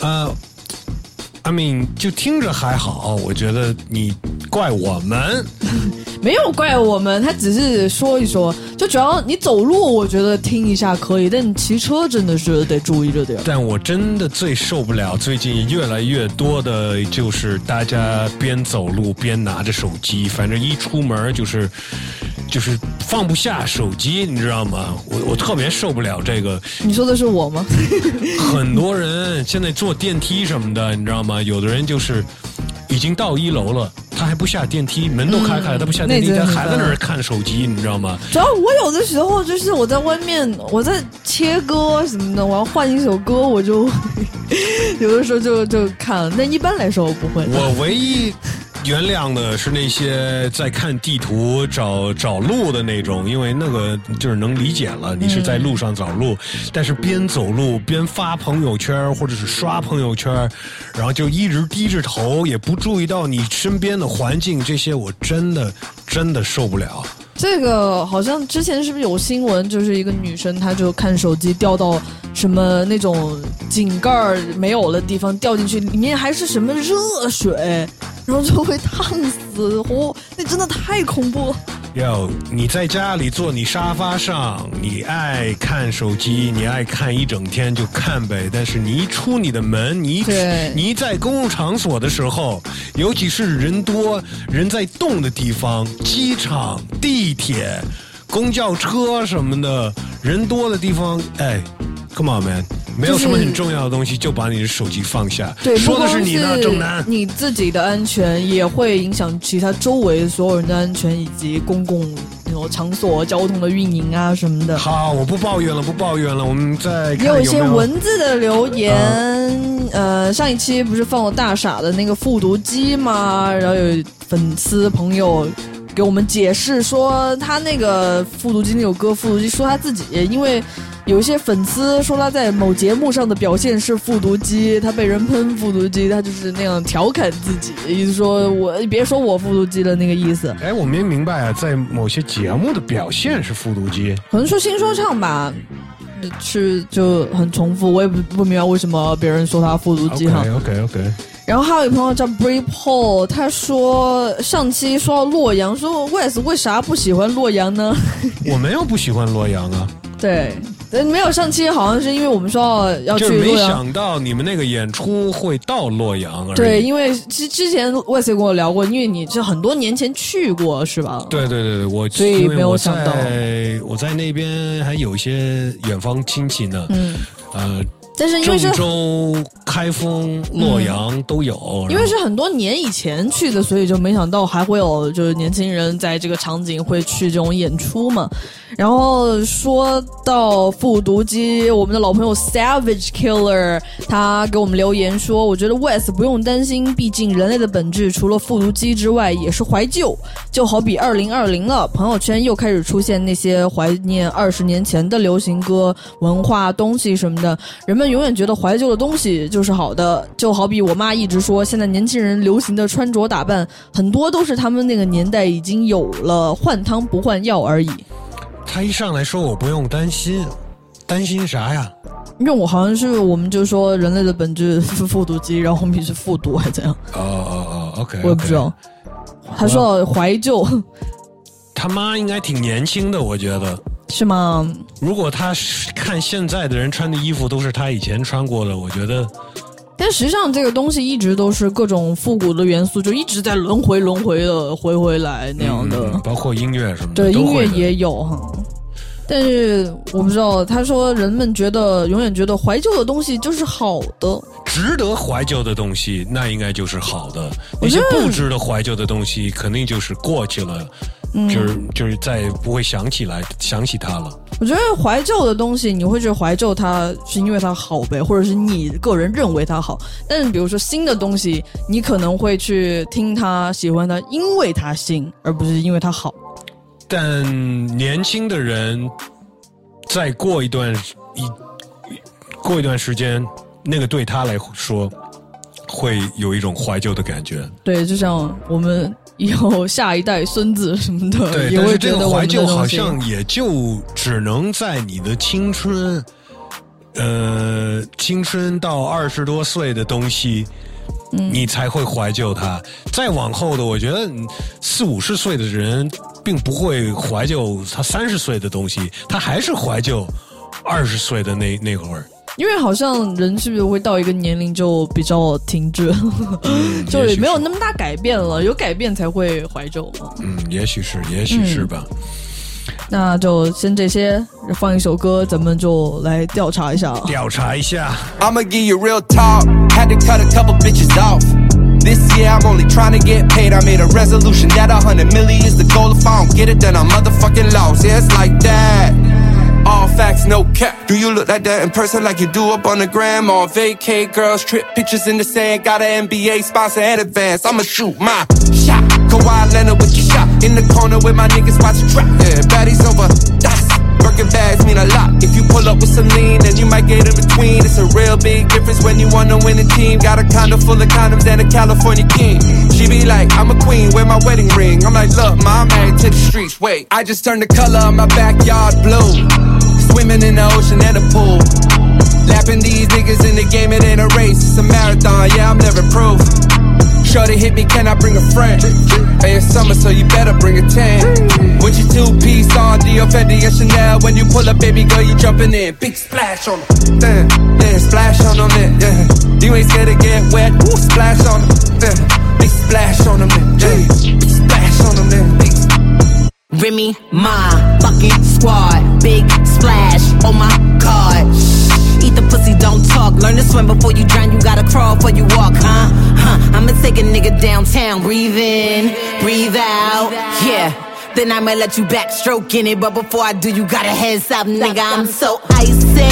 I mean 就听着还好，我觉得你怪我们。 没有怪我们，他只是说一说，就主要你走路我觉得听一下可以，但你骑车真的是得注意着点。 但我真的最受不了最近越来越多的就是大家边走路边拿着手机，反正一出门就是放不下手机，你知道吗？我特别受不了这个。 你说的是我吗？ 很多人现在坐电梯什么的，你知道吗？有的人就是已经到1楼了，他还不下电梯，门都开开了，他不下电梯，他还在那儿看手机，你知道吗？ 主要我有的时候就是我在外面，我在切歌什么的，我要换一首歌，我就有的时候就看了，但一般来说我不会。 我唯一原谅的是那些在看地图找路的那种，因为那个就是能理解了，你是在路上找路，但是边走路边发朋友圈或者是刷朋友圈，然后就一直低着头，也不注意到你身边的环境，这些我真的受不了。 这个好像之前是不是有新闻，就是一个女生她就看手机掉到什么那种井盖没有的地方掉进去，里面还是什么热水，然后就会烫死，那真的太恐怖了。 你在家里坐你沙发上，你爱看手机，你爱看一整天就看呗，但是你一出你的门，你一在公共场所的时候，尤其是人多人在动的地方，机场、地铁、公交车什么的，人多的地方，come on man， 没有什么很重要的东西，就把你的手机放下。 对， 说的是你呢，正南。 你自己的安全也会影响其他周围所有人的安全，以及公共那种场所交通的运营啊什么的。 好，我不抱怨了，我们再看有一些文字的留言。上一期不是放了大傻的那个复读机吗？然后有粉丝朋友给我们解释说，他那个复读机那首歌复读机，说他自己因为有一些粉丝说他在某节目上的表现是复读机，他被人喷复读机，他就是那样调侃自己，意思说你别说我复读机的那个意思。 我没明白啊，在某些节目的表现是复读机， 可能说新说唱吧，是就很重复，我也不明白为什么别人说他复读机哈。 OK。 然后还有一朋友叫 Brave Paul， 他说上期说到洛阳，说 Wes 为啥不喜欢洛阳呢？我没有不喜欢洛阳啊。 对，没有上期好像是因为我们说要去洛阳， 就是没想到你们那个演出会到洛阳而已。 对，因为之前 Wes 跟我聊过，因为你是很多年前去过是吧？ 对， 所以没有想到。 我在那边还有一些远方亲戚呢。 但是因为是郑州、开封、洛阳都有， 因为是很多年以前去的，所以就没想到还会有就是年轻人在这个场景会去这种演出嘛。然后说到复读机，我们的老朋友 Savage Killer 他给我们留言说，我觉得 Wes 不用担心，毕竟人类的本质除了复读机之外也是怀旧，就好比2020了，朋友圈又开始出现那些怀念20年前的流行歌、文化东西什么的，人们永远觉得怀旧的东西就是好的，就好比我妈一直说，现在年轻人流行的穿着打扮很多都是他们那个年代已经有了，换汤不换药而已。 他一上来说我不用担心，担心啥呀？ 因为我好像是我们就说人类的本质是复读机，然后后面是复读还是怎样 ？OK， 我也不知道。他说到怀旧， 他妈应该挺年轻的，我觉得。 是吗？ 如果他看现在的人穿的衣服都是他以前穿过的，我觉得。 但实际上这个东西一直都是各种复古的元素，就一直在轮回的回来那样的， 包括音乐什么的。 对，音乐也有哈。但是我不知道，他说人们永远觉得怀旧的东西就是好的， 值得怀旧的东西那应该就是好的，那些不值得怀旧的东西肯定就是过去了。就是再也不会想起它了。 我觉得怀旧的东西，你会觉得怀旧它是因为它好呗，或者是你个人认为它好。但是比如说新的东西，你可能会去听它、喜欢它，因为它新，而不是因为它好。 但年轻的人再过一段时间，那个对他来说会有一种怀旧的感觉。 对，就像我们以后下一代孙子什么的， 对， 也会觉得但是这个怀旧好像也就只能在你的青春青春到20多岁的东西，你才会怀旧它。再往后的，我觉得40、50岁的人并不会怀旧他30岁的东西，他还是怀旧20岁的那会儿。 因为好像人是不是会到一个年龄就比较停滞，就也没有那么大改变了，有改变才会怀旧嘛。 也许是吧。 那就先这些，放一首歌，咱们就来调查一下。 I'ma give you real talk. Had to cut a couple bitches off. This year I'm only trying to get paid. I made a resolution that 100 million is the goal. If I don't get it, then I'm motherfucking lost. Yeah, it's like that. All facts, no cap. Do you look like that in person like you do up on the gram? On vacay, girls, trip pictures in the sand. Got an NBA sponsor and advance. I'ma shoot my shot. Kawhi Leonard with your shot. In the corner with my niggas watch trap. Yeah, baddies over dots. Birkin bags mean a lot. If you pull up with some lean, then you might get in between. It's a real big difference when you want to win a team. Got a condo full of condoms and a California king. She be like, I'm a queen, wear my wedding ring. I'm like, look, ma, I'm married to the streets. Wait, I just turned the color of my backyard blue. Swimming in the ocean and the pool. Lapping these niggas in the game, it ain't a race, it's a marathon, yeah, I'm never proof. Shorty hit me, can I bring a friend? Hey, it's summer, so you better bring a 10. With your 2-piece on, Dior, Fendi, and Chanel. When you pull up, baby girl, you jumping in. Big splash on them, yeah, splash on them, yeah. You ain't scared to get wet, ooh, splash on them, yeah. Big splash on them, yeah. Big splash on them, yeah. Big Remy, my fucking squad. Big splash, oh my god. Eat the pussy, don't talk. Learn to swim before you drown. You gotta crawl before you walk, I'ma take a nigga downtown. Breathe in, breathe out, yeah. Then I'ma let you backstroke in it. But before I do, you gotta head south, nigga. I'm so icy.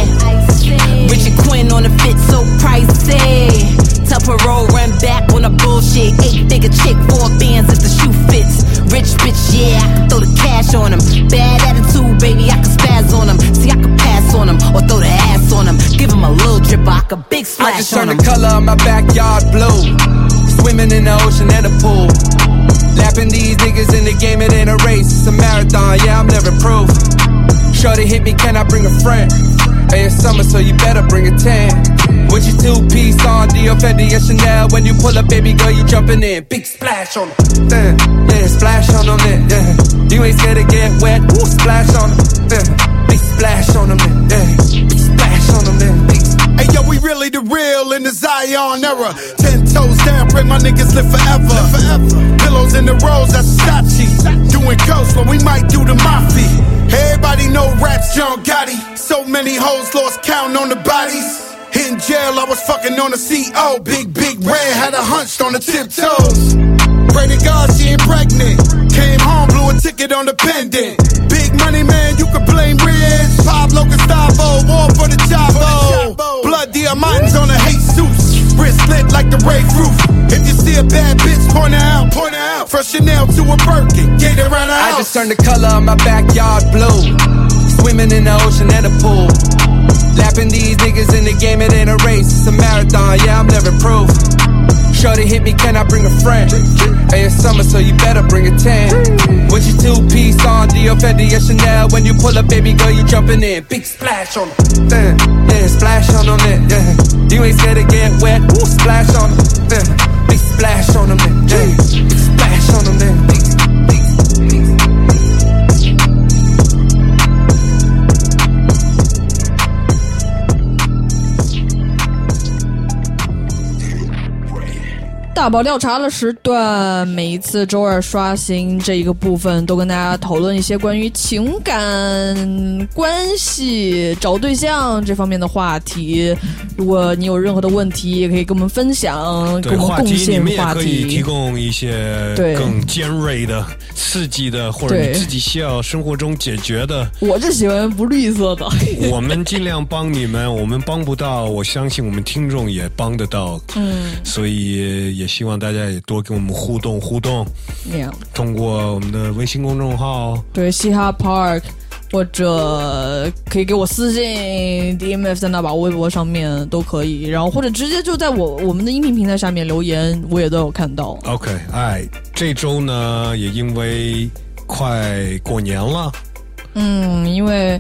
Richard Quinn on the fit, so pricey. Tell parole, run back on the bullshit. 8-figure chick, 4 bands if the shoe fits. Rich bitch, yeah, I can throw the cash on him. Bad attitude, baby, I can spaz on him. See, I can pass on him or throw the ass on him. Give him a little drip, I can big splash on him. I just turned the color of my backyard blue. Swimming in the ocean and the pool. Lapping these niggas in the game, it ain't a race, it's a marathon, yeah, I'm never proof. Shorty hit me, can I bring a friend? Hey, it's summer, so you better bring a 10. With your 2-piece on, Dior, Fendi, and Chanel. When you pull up, baby girl, you jumping in. Big splash on them, yeah, splash on them, yeah. You ain't scared to get wet, ooh, splash on them, yeah. Big splash on them, yeah. Big splash on them, yeah. Big. Hey yo, we really the real in the Zion era. 10 toes down, pray my niggas live forever. Pillows in the rolls, that's Versace. Doing coast when we might do the mafia. Everybody know raps, John Gotti. So many hoes lost count on the bodies. In jail, I was fucking on the CO. Big red, had her hunched on the tiptoes. Pray to God she ain't pregnant. Came home, blew a ticket on the pendant. Big money man, you can blame Riz. Pablo Gustavo, war for the Chavo. Blood diamonds on a Jesus. Wrist lit like the Ray roof. If you see a bad bitch, point her out. From Chanel to a Birkin, get it around the house. I just turned the color of my backyard blue. Swimming in the ocean and the pool. Lapping these niggas in the game, it ain't a race, it's a marathon, yeah, I'm never proof. Shorty hit me, can I bring a friend? Hey, it's summer, so you better bring a 10. With your 2-piece on, Dior, Fendi, and Chanel. When you pull up, baby girl, you jumping in. Big splash on them, yeah, splash on them, yeah. You ain't scared to get wet, ooh, splash on them, yeah. Big splash on them, yeah. Big splash on them, yeah. Big. 大宝调查的时段，每一次周二刷新这一个部分，都跟大家讨论一些关于情感关系、找对象这方面的话题。如果你有任何的问题，也可以跟我们分享，跟我们贡献话题。你们也可以提供一些更尖锐的、刺激的，或者你自己需要生活中解决的。 我就喜欢不绿色的。 我们尽量帮你们，我们帮不到，我相信我们听众也帮得到。所以也希望大家也多跟我们互动，通过我们的微信公众号， 对，嘻哈 Park， 或者可以给我私信 DMF 在那把微博上面都可以，然后或者直接就在我们的音频平台下面留言，我也都有看到。 OK， 这周呢也因为快过年了， 因为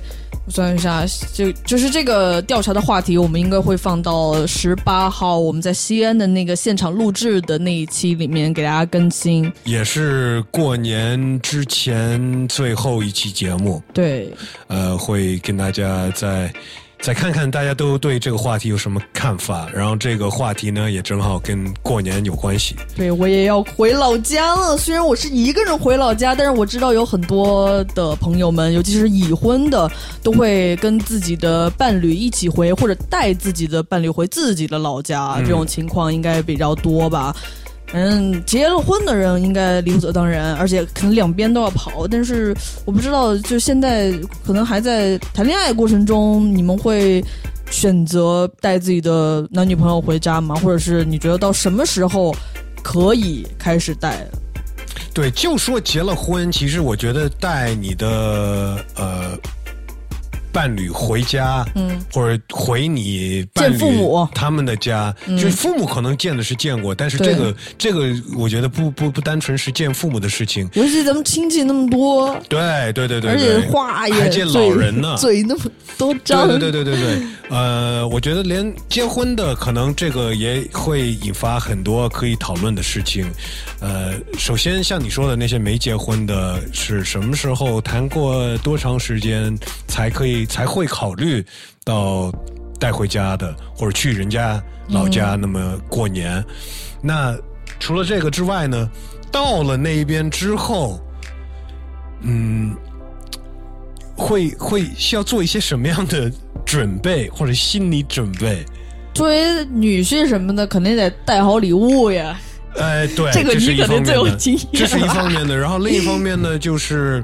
我算一下，就是这个调查的话题，我们应该会放到18号我们在西安的那个现场录制的那一期里面给大家更新， 也是过年之前最后一期节目。 对， 会跟大家再看看大家都对这个话题有什么看法，然后这个话题呢也正好跟过年有关系。 对，我也要回老家了，虽然我是一个人回老家，但是我知道有很多的朋友们，尤其是已婚的，都会跟自己的伴侣一起回，或者带自己的伴侣回自己的老家，这种情况应该比较多吧。结了婚的人应该理所当然，而且可能两边都要跑，但是我不知道，就现在可能还在谈恋爱过程中，你们会选择带自己的男女朋友回家吗？或者是你觉得到什么时候可以开始带？ 对，就说结了婚，其实我觉得带你的伴侣回家，或者回你伴侣见父母他们的家，就是父母可能见的是见过，但是这个我觉得不单纯是见父母的事情， 尤其咱们亲戚那么多， 对，而且话也还见老人呢， 嘴那么多张， 对，我觉得连结婚的可能这个也会引发很多可以讨论的事情。首先像你说的那些没结婚的，是什么时候谈过多长时间才会考虑到带回家的，或者去人家老家那么过年。那除了这个之外呢，到了那边之后，会需要做一些什么样的准备或者心理准备？ 作为女婿什么的，肯定得带好礼物呀。 对， 这个你可能最有经验。 这是一方面的，然后另一方面呢，就是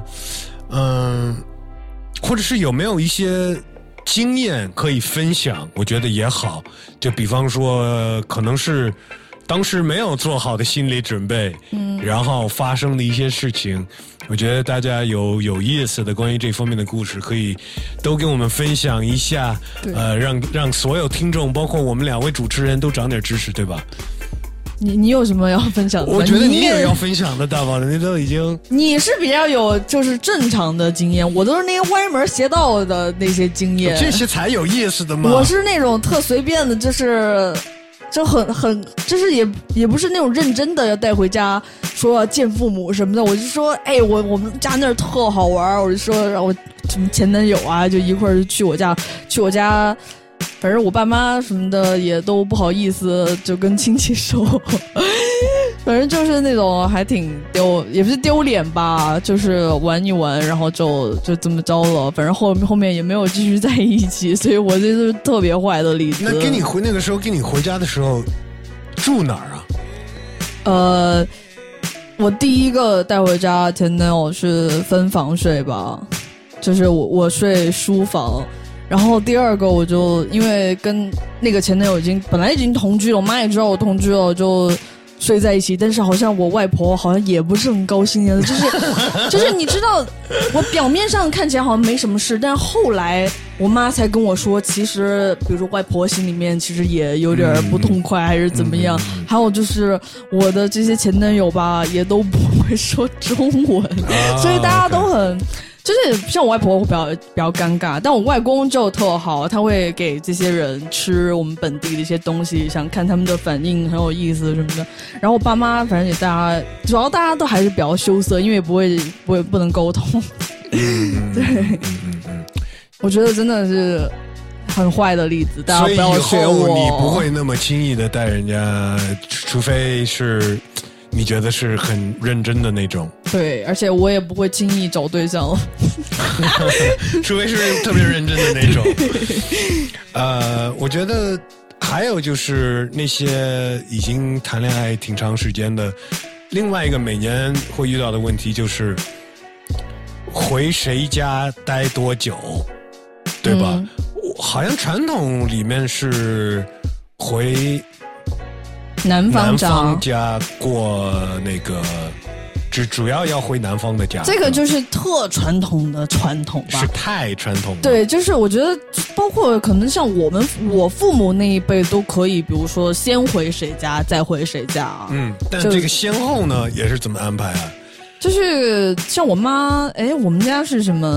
或者是有没有一些经验可以分享，我觉得也好。就比方说可能是当时没有做好的心理准备，然后发生的一些事情，我觉得大家有意思的关于这方面的故事可以都跟我们分享一下，让所有听众包括我们两位主持人都长点知识，对吧？ 你有什么要分享的？ 我觉得你也要分享的，大宝，你都已经， 你是比较有就是正常的经验，我都是那些歪门邪道的那些经验， 这些才有意思的嘛。 我是那种特随便的，就很就是也不是那种认真的要带回家说要见父母什么的，我就说我们家那儿特好玩，我就说让我什么前男友啊就一块儿去我家。反正我爸妈什么的也都不好意思就跟亲戚说，反正就是那种还挺也不是丢脸吧，就是玩一玩，然后就这么着了。反正后面也没有继续在一起，所以我这是特别坏的例子。 那那个时候跟你回家的时候住哪儿啊？ 我第一个带回家前男友是分房睡吧，就是我睡书房。然后第二个我就因为跟那个前男友本来已经同居了，我妈也知道我同居了，就睡在一起。但是好像我外婆好像也不是很高兴的，就是你知道，我表面上看起来好像没什么事，但是后来我妈才跟我说，其实比如说外婆心里面其实也有点不痛快，还是怎么样。还有就是我的这些前男友吧，也都不会说中文，所以大家都很。就是像我外婆会比较尴尬，但我外公就特好，他会给这些人吃我们本地的一些东西，想看他们的反应，很有意思什么的。然后我爸妈反正也主要大家都还是比较羞涩，因为不能沟通。对，我觉得真的是很坏的例子，大家不要学我。 所以以后你不会那么轻易的带人家，除非是。你觉得是很认真的那种？ 对，而且我也不会轻易找对象， 除非是特别认真的那种。我觉得还有就是那些已经谈恋爱挺长时间的，另外一个每年会遇到的问题就是回谁家待多久，对吧？好像传统里面是回男方家过那个，主要要回男方的家。 这个就是特传统的传统吧， 是太传统了。 对，就是我觉得包括可能像我父母那一辈都可以，比如说先回谁家再回谁家。 但这个先后呢也是怎么安排啊？ 就是像我妈，我们家是什么？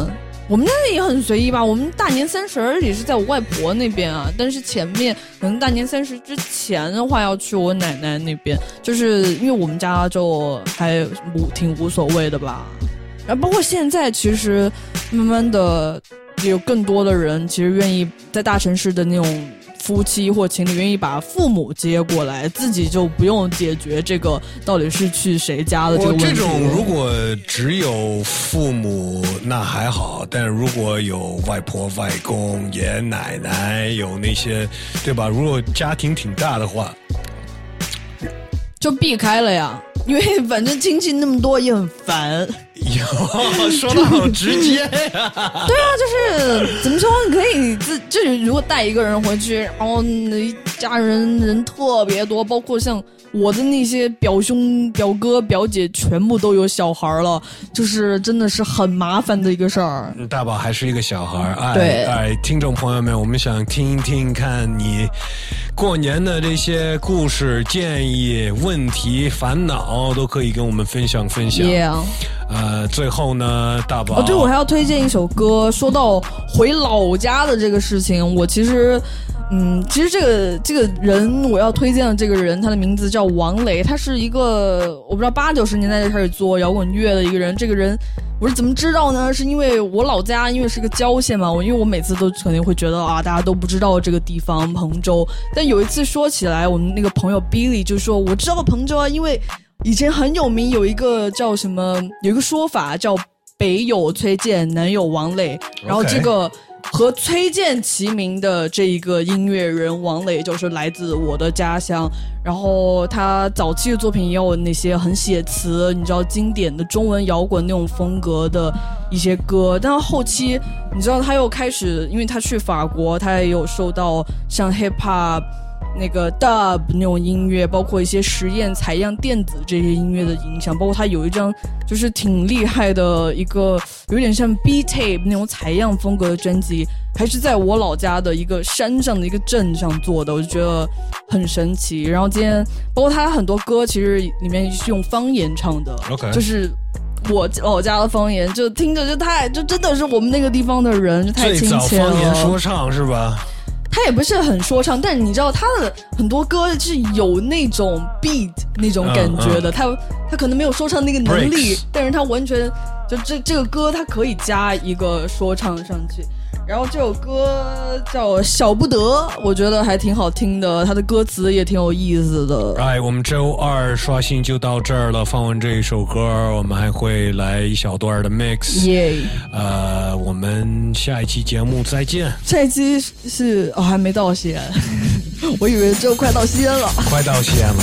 我们家也很随意吧，我们大年30也是在我外婆那边啊，但是前面可能大年30之前的话要去我奶奶那边，就是因为我们家就还挺无所谓的吧。然后包括现在其实慢慢的有更多的人其实愿意在大城市的那种夫妻或情侣愿意把父母接过来，自己就不用解决这个到底是去谁家的这个问题。 我这种如果只有父母那还好，但如果有外婆外公爷爷奶奶有那些对吧，如果家庭挺大的话就避开了呀，因为反正亲戚那么多也很烦。 哟，说得好直接呀！ 对啊，就是怎么说，你可以就是如果带一个人回去，然后一家人特别多，包括像我的那些表兄、表哥、表姐全部都有小孩了，就是真的是很麻烦的一个事儿。 大宝还是一个小孩， 对， 听众朋友们，我们想听一听看你过年的这些故事、建议、问题、烦恼，都可以跟我们分享。 Yeah. 最后呢，大宝对，我还要推荐一首歌。说到回老家的这个事情，我其实这个人我要推荐的这个人，他的名字叫王磊，他是一个我不知道80、90年代就开始做摇滚乐的一个人。这个人我是怎么知道呢？是因为我老家因为是个郊县嘛，因为我每次都肯定会觉得大家都不知道这个地方彭州。但有一次说起来，我们那个朋友 Billy 就说我知道彭州啊，因为以前很有名，有一个叫什么，有一个说法叫北有崔健，南有王磊，然后这个和崔健齐名的这一个音乐人王磊就是来自我的家乡。然后他早期的作品也有那些很写词，你知道经典的中文摇滚那种风格的一些歌，但后期你知道他又开始，因为他去法国，他也有受到像 hip hop那个 dub 那种音乐，包括一些实验采样电子这些音乐的影响，包括他有一张就是挺厉害的一个有点像 B-tape 那种采样风格的专辑，还是在我老家的一个山上的一个镇上做的，我就觉得很神奇。然后今天包括他很多歌其实里面是用方言唱的， OK， 就是我老家的方言，就听着就真的是我们那个地方的人，就太亲切了。 最早方言说唱是吧？ 他也不是很说唱，但是你知道他的很多歌是有那种 beat 那种感觉的，他可能没有说唱那个能力，但是他完全就这个歌他可以加一个说唱上去。然后这首歌叫小不得，我觉得还挺好听的，他的歌词也挺有意思的。 我们周二刷新就到这儿了，放完这一首歌我们还会来一小段的 mix。 我们下一期节目再见。 下一期是还没到西安我以为就快到西安了。 快到西安了。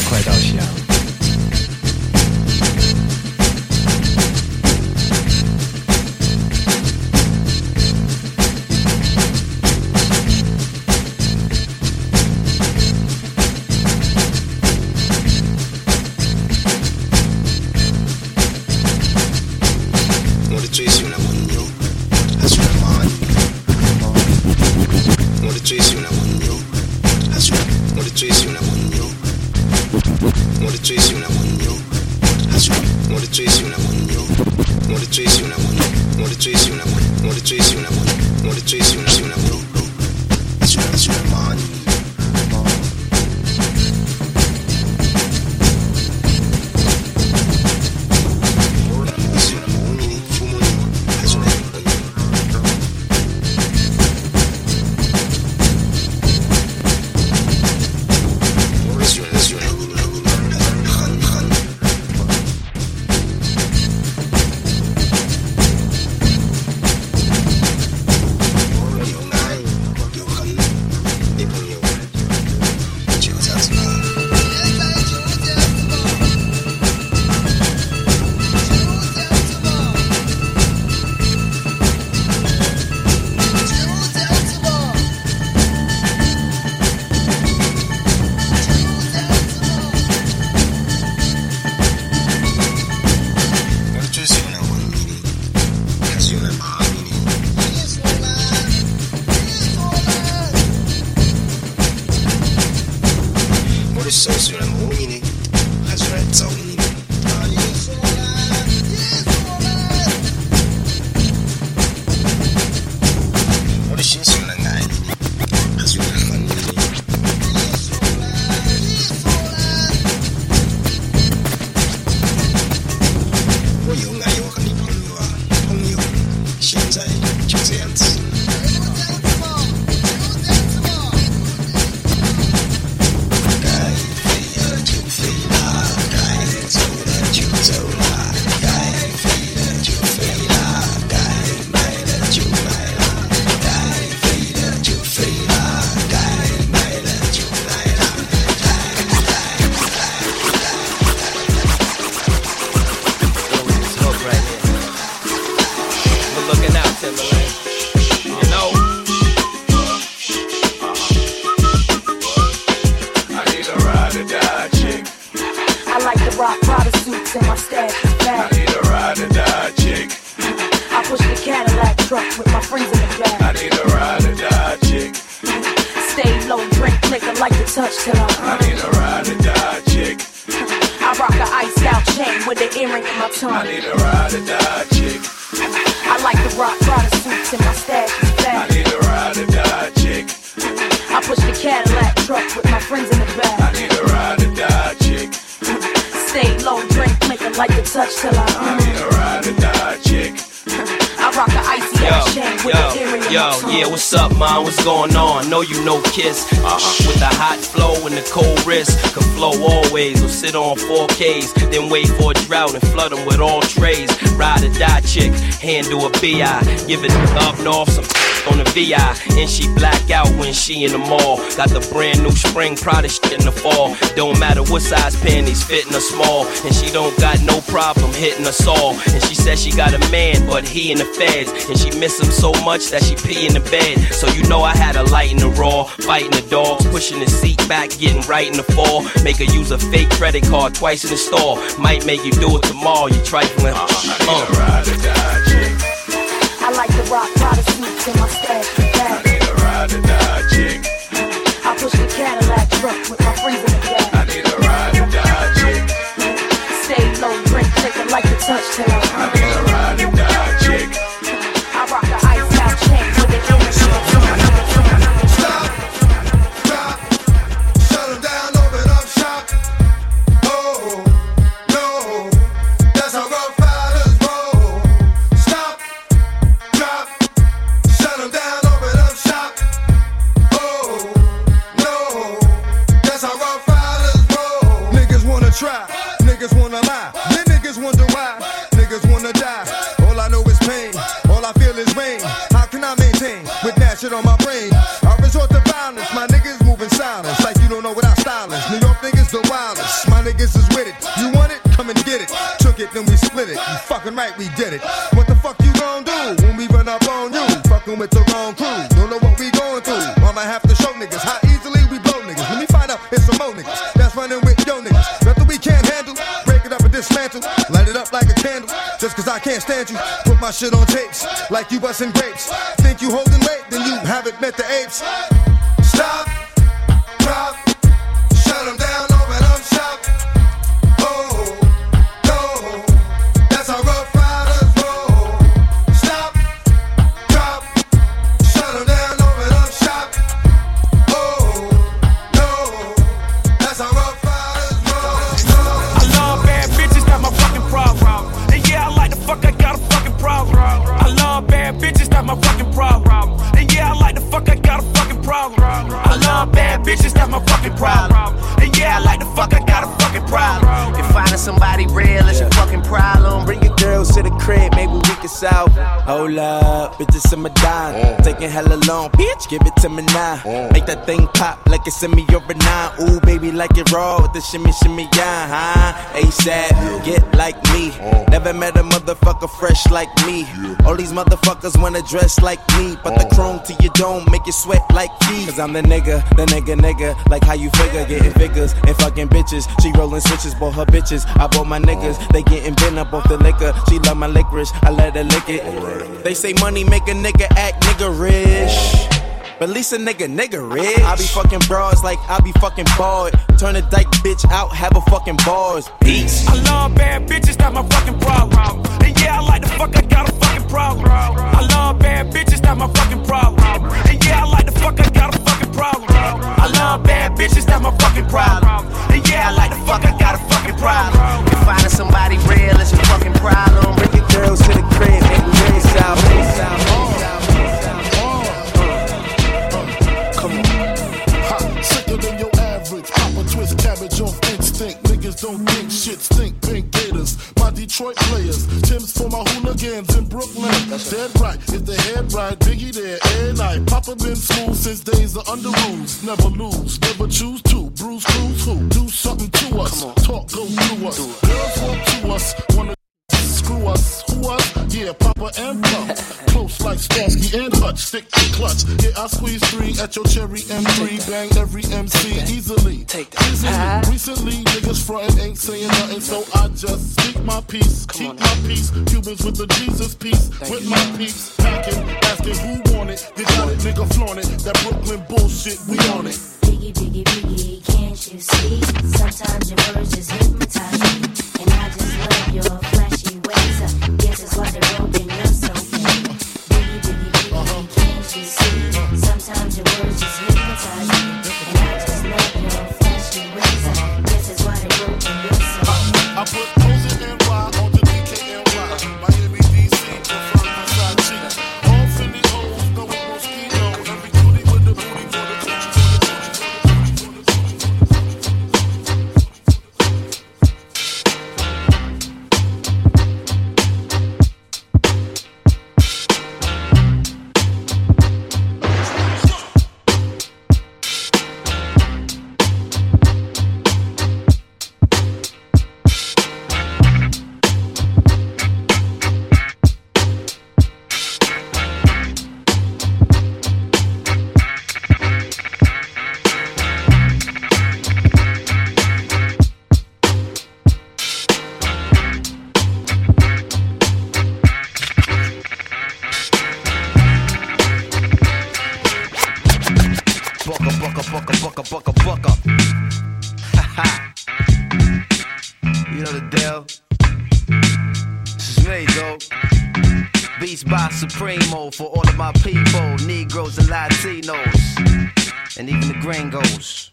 rock Prada suits and my stash is bad. I need a ride or die chick. I push the Cadillac truck with my friends in the back. I need a ride or die chick. Stay low, drink liquor, like to touch till I need a ride or die chick. I rock a iced out chain with an earring in my tongue. I need a ride or die chick. I like to rock Prada suits and my stash is bad. I need a ride or die chick. I push the Cadillac truck with my friends in the back. I need a ride or die chick. Stay low, drink liquor, like to touch till I need a ride or die chick. I rock a icy out chain with an earring in my tongue. Yeah, what's up, man? What's going on? Know you know Kiss. With the hot flow and the cold wrist. Can flow always or sit on 4Ks. Then wait for a drought and flood them with all trays. Ride or die chick, handle a BI. Give it up north, some on the VI. And she black out when she in the mall. Got the brand new spring Prada shit in the fall. Don't matter what size panties, fitting her small. And she don't got no problem hitting us all. And she said she got a man, but he in the feds. And she miss him so much that she pee in the bed. So you know I had a light in the raw. Fighting the dogs, pushing the seat back, getting right in the fall. Make her use a fake credit card twice in the store. Might make you do it tomorrow, you trifling. I need a ride or die chick. I like to rock Prada suits and my stash is bad. I need a ride or die chick. I push the Cadillac truck with my friends in the back. I need a ride or die chick. Stay low, drink liquor, like to touch till I need a ride or die chick. I rock a iced out chain with an earring in my tongue. Stop, drop, shut 'em down, open up shop. Oh, no, that's how Rough Riders roll. Stop, drop, shut 'em down, open up shop. Oh, no, that's how Rough Riders roll. Niggas wanna try, niggas wanna lie, then niggas wonder why, niggas wanna die. All I know is pain, all I feel is rain. How can I maintain with that shit on my brain? I resort to violence, my niggas moving silence like you don't know what I style is. New York niggas the wildest, my niggas is with it. You want it? Come and get it. Took it, then we split it. You fucking right, we did it. What the fuck you gon' do when we run up on you? Fucking with the wrong crew, don't know what we going through. I'ma have to show niggas how easily we blow niggas. Let me find out it's some more niggas that's running with yo niggas. Nothing we can't handle, break it up and dismantle. Light it up like a candle, just cause I can't stand you. Put my shit on tapes, like you busting grapes. Think you holding weight, then you haven't met the apes. Stop, drop, shut 'em down, open up shop. Oh, no, that's how Rough Riders roll. Stop, drop, shut 'em down, open up shop. Oh, no, that's how Rough Riders roll. I love bad bitches, that's my fucking problem. And yeah, I like the fuck, I got a fucking problem. I love bad bitches, that's my fucking problem. And yeah, I like the fuck, I got a fucking problem. I love bad bitches, that's my fucking problem. And yeah, I like the fuck, I got a fucking problem. If finding somebody real is your fucking problem, bring your girls to the crib, maybe we can solve. Hold up, bitches in my dime. Taking hella long, bitch, give it to me now. Make that thing pop like it's in me or a nine. Ooh, baby, like it raw with the shimmy, shimmy, yeah, huh? ASAP, get like me. Never met a motherfucker fresh like me. All these motherfuckers wanna dress like me, but the chrome to your dome make you sweat like me. Cause I'm the nigga, like how you figure, getting figures and fucking bitches. She rolling switches, bought her bitches, I bought my niggas. They getting bent up off the liquor, she love my licorice, I let her lick it. They say money make a nigga act niggerish, but at least a nigga rich. I be fucking bras like I be fucking bored. Turn a dyke bitch out, have a fucking bars. Peace. I love bad bitches, that's my fucking problem. And yeah, I like the fuck, I got a fucking problem. I love bad bitches, that's my fucking problem. And yeah, I like the fuck, I got a fucking problem. I love bad bitches, that's my fucking problem. And yeah, I like the fuck, I got a fucking problem. If finding somebody real is your fucking problem, bring your girls to the crib, make me raise out. Sicker than your average. Pop a twist cabbage off instinct. Niggas don't think shit stink. Pink Gators, my Detroit players. Tim's for my hooligans in Brooklyn. Dead right, if the head right, Biggie there every night. Papa been smooth since days of under rules. Never lose, never choose to. Bruise, cruise, who? Do something to us. Talk, go through us. Girls want to us, wanna screw us. Who us? Yeah, Papa and Pump. Close like Starsky and Hutch. much, stick to clutch. Yeah, I squeeze 3 at your cherry M3, bang every MC easily. Recently, niggas frontin' ain't saying nothing, so I just speak my peace, keep my peace. Cubans with the Jesus peace, with my peace, packing, asking who want it. You got it, nigga, flaunt it. That Brooklyn bullshit, we on it. Biggie, biggie, biggie, can't you see? Sometimes your words just hypnotize me, and I just love your flashy ways. Guess it's why they're broken, you're so fake. Biggie, biggie, biggie, can't you see? Sometimes your words just hypnotize me, and I just love your flashy ways. Guess it's why they're broken, you're so fake. I put O's and NY on the DKNY. Miami, DC, prefer Versace. All Philly O's, no Moschino. Every cutie with the booty for the coochie. Bucka. Ha. You know the deal. This is me, though. Beats by Supremo for all of my people, Negroes and Latinos, and even the gringos.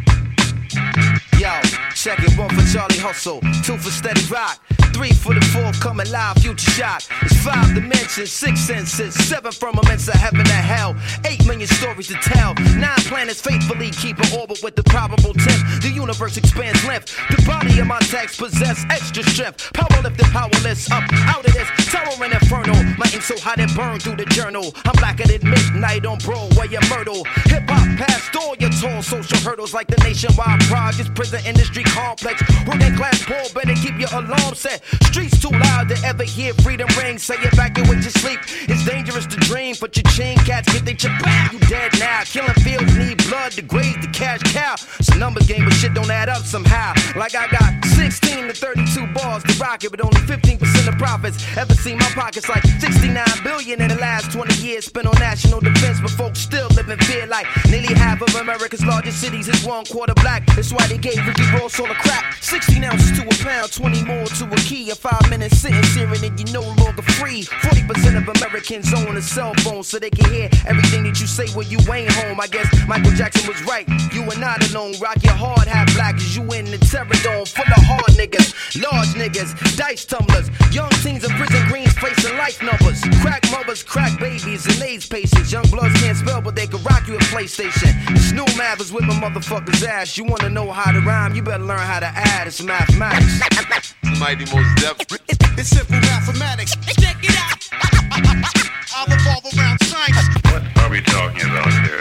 Yo, check it, 1 for Charlie Hustle, 2 for Steady Rock, 3 for the forthcoming live future shock. It's 5 dimensions, 6 senses, 7 firmaments of heaven and hell, 8 million stories to tell, 9 planets faithfully keep an orbit with the probable 10th. The universe expands length, the body of my text possess extra strength. Power lifted, powerless, up out of this terror and inferno. My ink so hot it burned through the journal. I'm blacker than midnight on Broadway and Myrtle. Hip hop past all your tall social hurdles like the nationwide projects, prison industry complex. Working class poor, better keep your alarm set. Streets too loud to ever hear freedom ring. Say evacuate your sleep. It's dangerous to dream, but your chain cats get they chip back. You dead now. Killing fields need blood to graze the cash cow. It's a numbers game, but shit don't add up somehow. Like I got 16 to 32 bars to rock it, but only 15% of profits. Ever seen my pockets like 69 billion in the last 20 years spent on national defense, but folks still live in fear like nearly half of America's largest cities is 1/4 black. That's why they gave Ricky Ross all the crap. 16 ounces to a pound, 20 more to a key. A 5 minute sentence here and then you're no longer free. 40% of Americans own a cell phone so they can hear everything that you say when you ain't home. I guess Michael Jackson was right. You are not alone. Rock your hard hat black as you in the terror dome full of hard niggas, large niggas, dice tumblers, young teens in prison greens facing life numbers, crack mothers, crack babies, and AIDS patients. Young bloods can't spell, but they can rock you a PlayStation. Snoop Mathers with my motherfucker's ass. You wanna know how to rhyme? You better learn how to add. It's mathematics. Mighty Most Def. It's simple mathematics. Check it out. I'll revolve around science. What are we talking about here?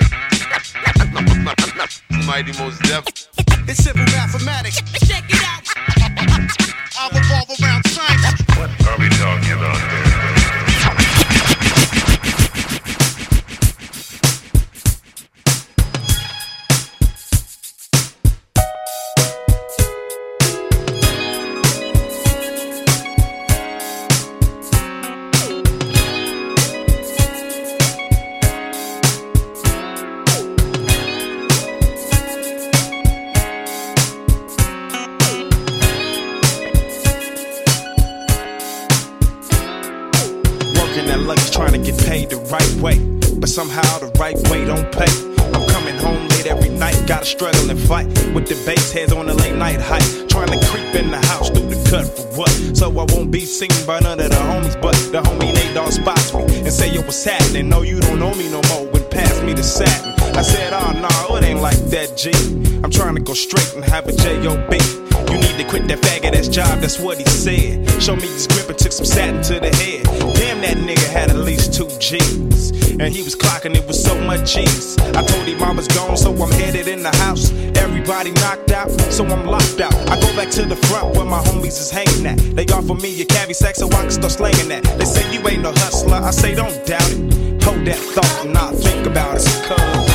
Mighty Most Def. It's simple mathematics. Check it out. I'll revolve around science. What are we talking about here? Somehow the right way don't pay. I'm coming home late every night, gotta struggle and fight with the bass heads on the late night hike, trying to creep in the house through the cut for what? So I won't be seen by none of the homies, but the homie Nate Dogg spots me and say, yo, what's happening? No, you don't know me no more. When pass me the satin, I said, oh no, it ain't like that, G. I'm trying to go straight and have a J.O.B. You need to quit that faggot ass job, that's what he said. Show me his grip and took some satin to the head. Damn, that nigga had at least 2 G's. And he was clocking it with so much cheese. I told him I was gone, so I'm headed in the house. Everybody knocked out, so I'm locked out. I go back to the front where my homies is hanging at. They offer me a cavi sack so I can start slanging that. They say you ain't no hustler, I say don't doubt it. Hold that thought and not think about it, cuz.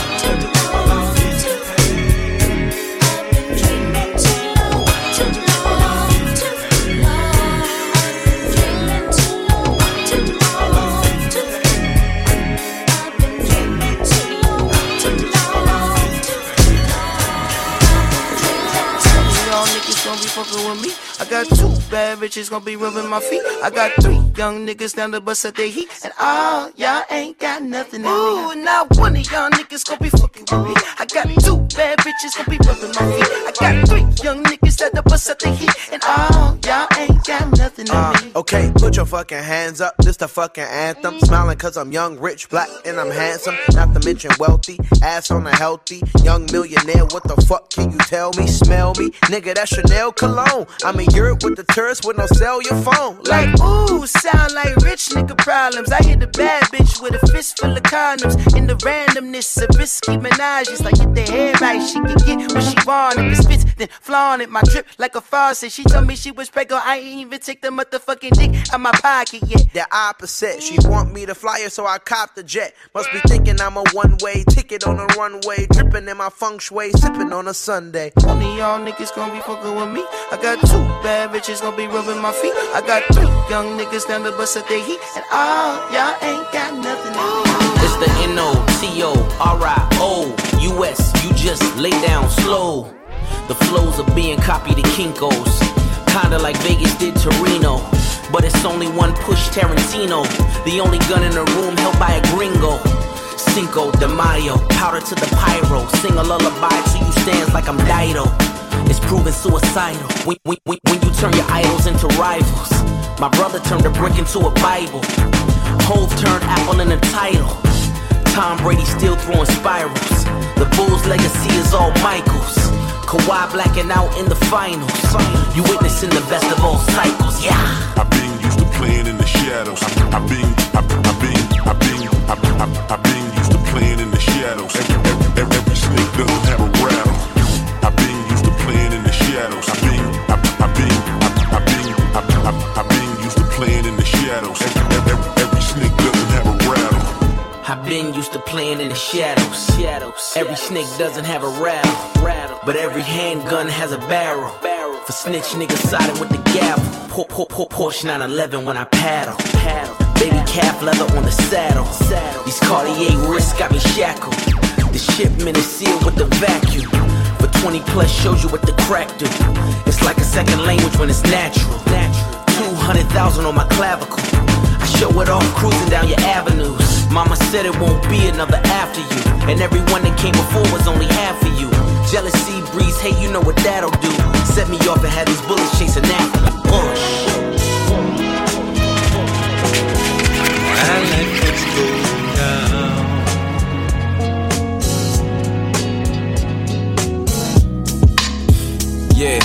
With me, I got 2 bad bitches gonna be rubbing my feet. I got 3 young niggas down to bust at their heat, and all y'all ain't got nothing in me. Ooh, not one of y'all niggas gonna be fucking with me. I got 2 bad bitches gonna be rubbing my feet. I got 3 young niggas that to bust at their heat, and all y'all ain't got nothing in me. Okay, put your fucking hands up, this the fucking anthem. Smiling cause I'm young, rich, black, and I'm handsome. Not to mention wealthy, ass on a healthy young millionaire. What the fuck can you tell me? Smell me? Nigga, that's Chanel cologne. I'm in Europe with the tourists with no cellular phone. Like, ooh, sound like rich nigga problems. I hit a bad bitch with a fist full of condoms. In the randomness of risky menages, like get the head right, she can get what she want. If it spits, then flaunt it. My drip like a faucet. She told me she was pregnant, I ain't even take the motherfucking dick out my pocket yet. The opposite, she want me to fly her, so I cop the jet. Must be thinking I'm a one-way ticket on a runway, dripping in my feng shui, sipping on a Sunday. One of y'all niggas gonna be fucking with me. I got 2 bad bitches gonna be rubbing my feet. I got 3 young niggas down to bust at their heat, and all y'all ain't got nothing in me. It's the NOTORIOUS. You just lay down slow. The flows are being copied to Kinko's, kinda like Vegas did Torino. But it's only one push, Tarantino. The only gun in the room held by a gringo. Cinco de Mayo, powder to the pyro. Sing a lullaby to you stands like I'm Dido. It's proven suicidal when you turn your idols into rivals. My brother turned a brick into a Bible. Hove turned Apple in a title. Tom Brady still throwing spirals. The Bulls' legacy is all Michaels. Kawhi blacking out in the finals. You witnessing the best of all cycles, yeah. I've been used to playing in the shadows. I've been used to playing in the shadows. Every snake doesn't have a rattle. I've been used to playing in the shadows. I've been used to playing in the shadows. Every snake doesn't have a rattle. I've been used to playing in the shadows. Every snake doesn't have a rattle. But every handgun has a barrel. For snitch niggas siding with the gavel. Porsche 911 when I paddle. Baby calf leather on the saddle. These Cartier wrists got me shackled. The shipment is sealed with the vacuum. For 20 plus shows you what the crack do. It's like a second language when it's natural. 200,000 on my clavicle. I show it off cruising down your avenues. Mama said it won't be another after you. And everyone that came before was only half of you. Jealousy breeze, hey, you know what that'll do. Set me off and had these bullets chasing after me. My life is going down. Yeah.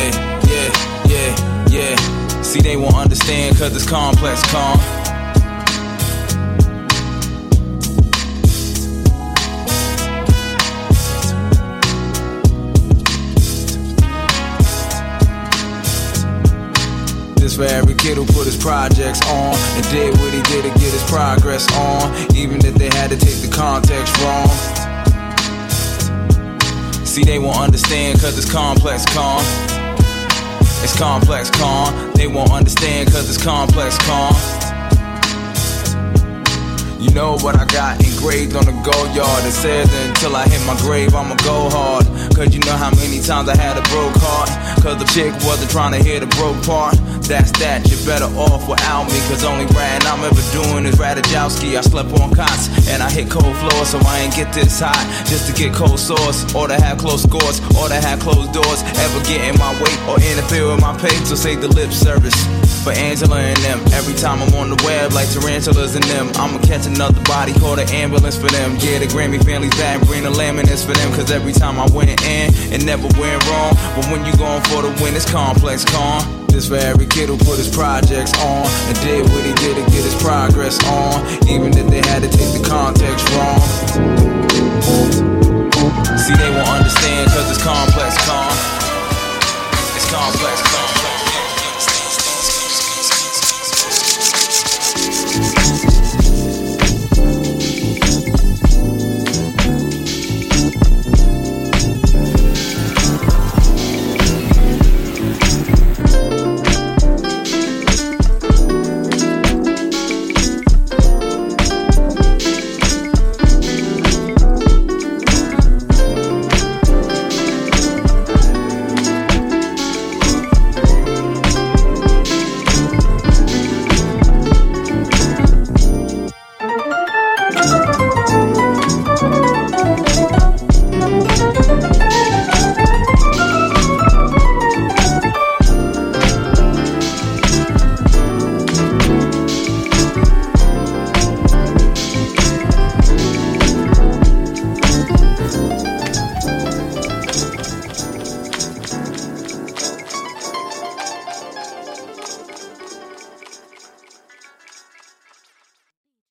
See, they won't understand cause it's complex, calm. This for every kid who put his projects on and did what he did to get his progress on, even if they had to take the context wrong. See, they won't understand cause it's complex, calm. It's complex, calm. They won't understand cause it's complex, calm. You know what I got engraved on the go yard. It says that until I hit my grave I'ma go hard. Cause you know how many times I had a broke heart. Cause the chick wasn't trying to hear the broke part. That's that, you're better off without me. Cause only ratting I'm ever doing is Radajowski. I slept on cots and I hit cold floors, so I ain't get this high just to get cold sores, or to have close scores, or to have closed doors. Ever get in my way or interfere with my pace, so say the lip service for Angela and them. Every time I'm on the web like tarantulas and them, I'ma catch another body, call the ambulance for them. Yeah, the Grammy family's back, bring the laminates for them. Cause every time I went in, it never went wrong. But when you going for the win, it's complex, calm. This for every kid who put his projects on and did what he did to get his progress on, even if they had to take the context wrong. See, they won't understand cause it's complex, calm.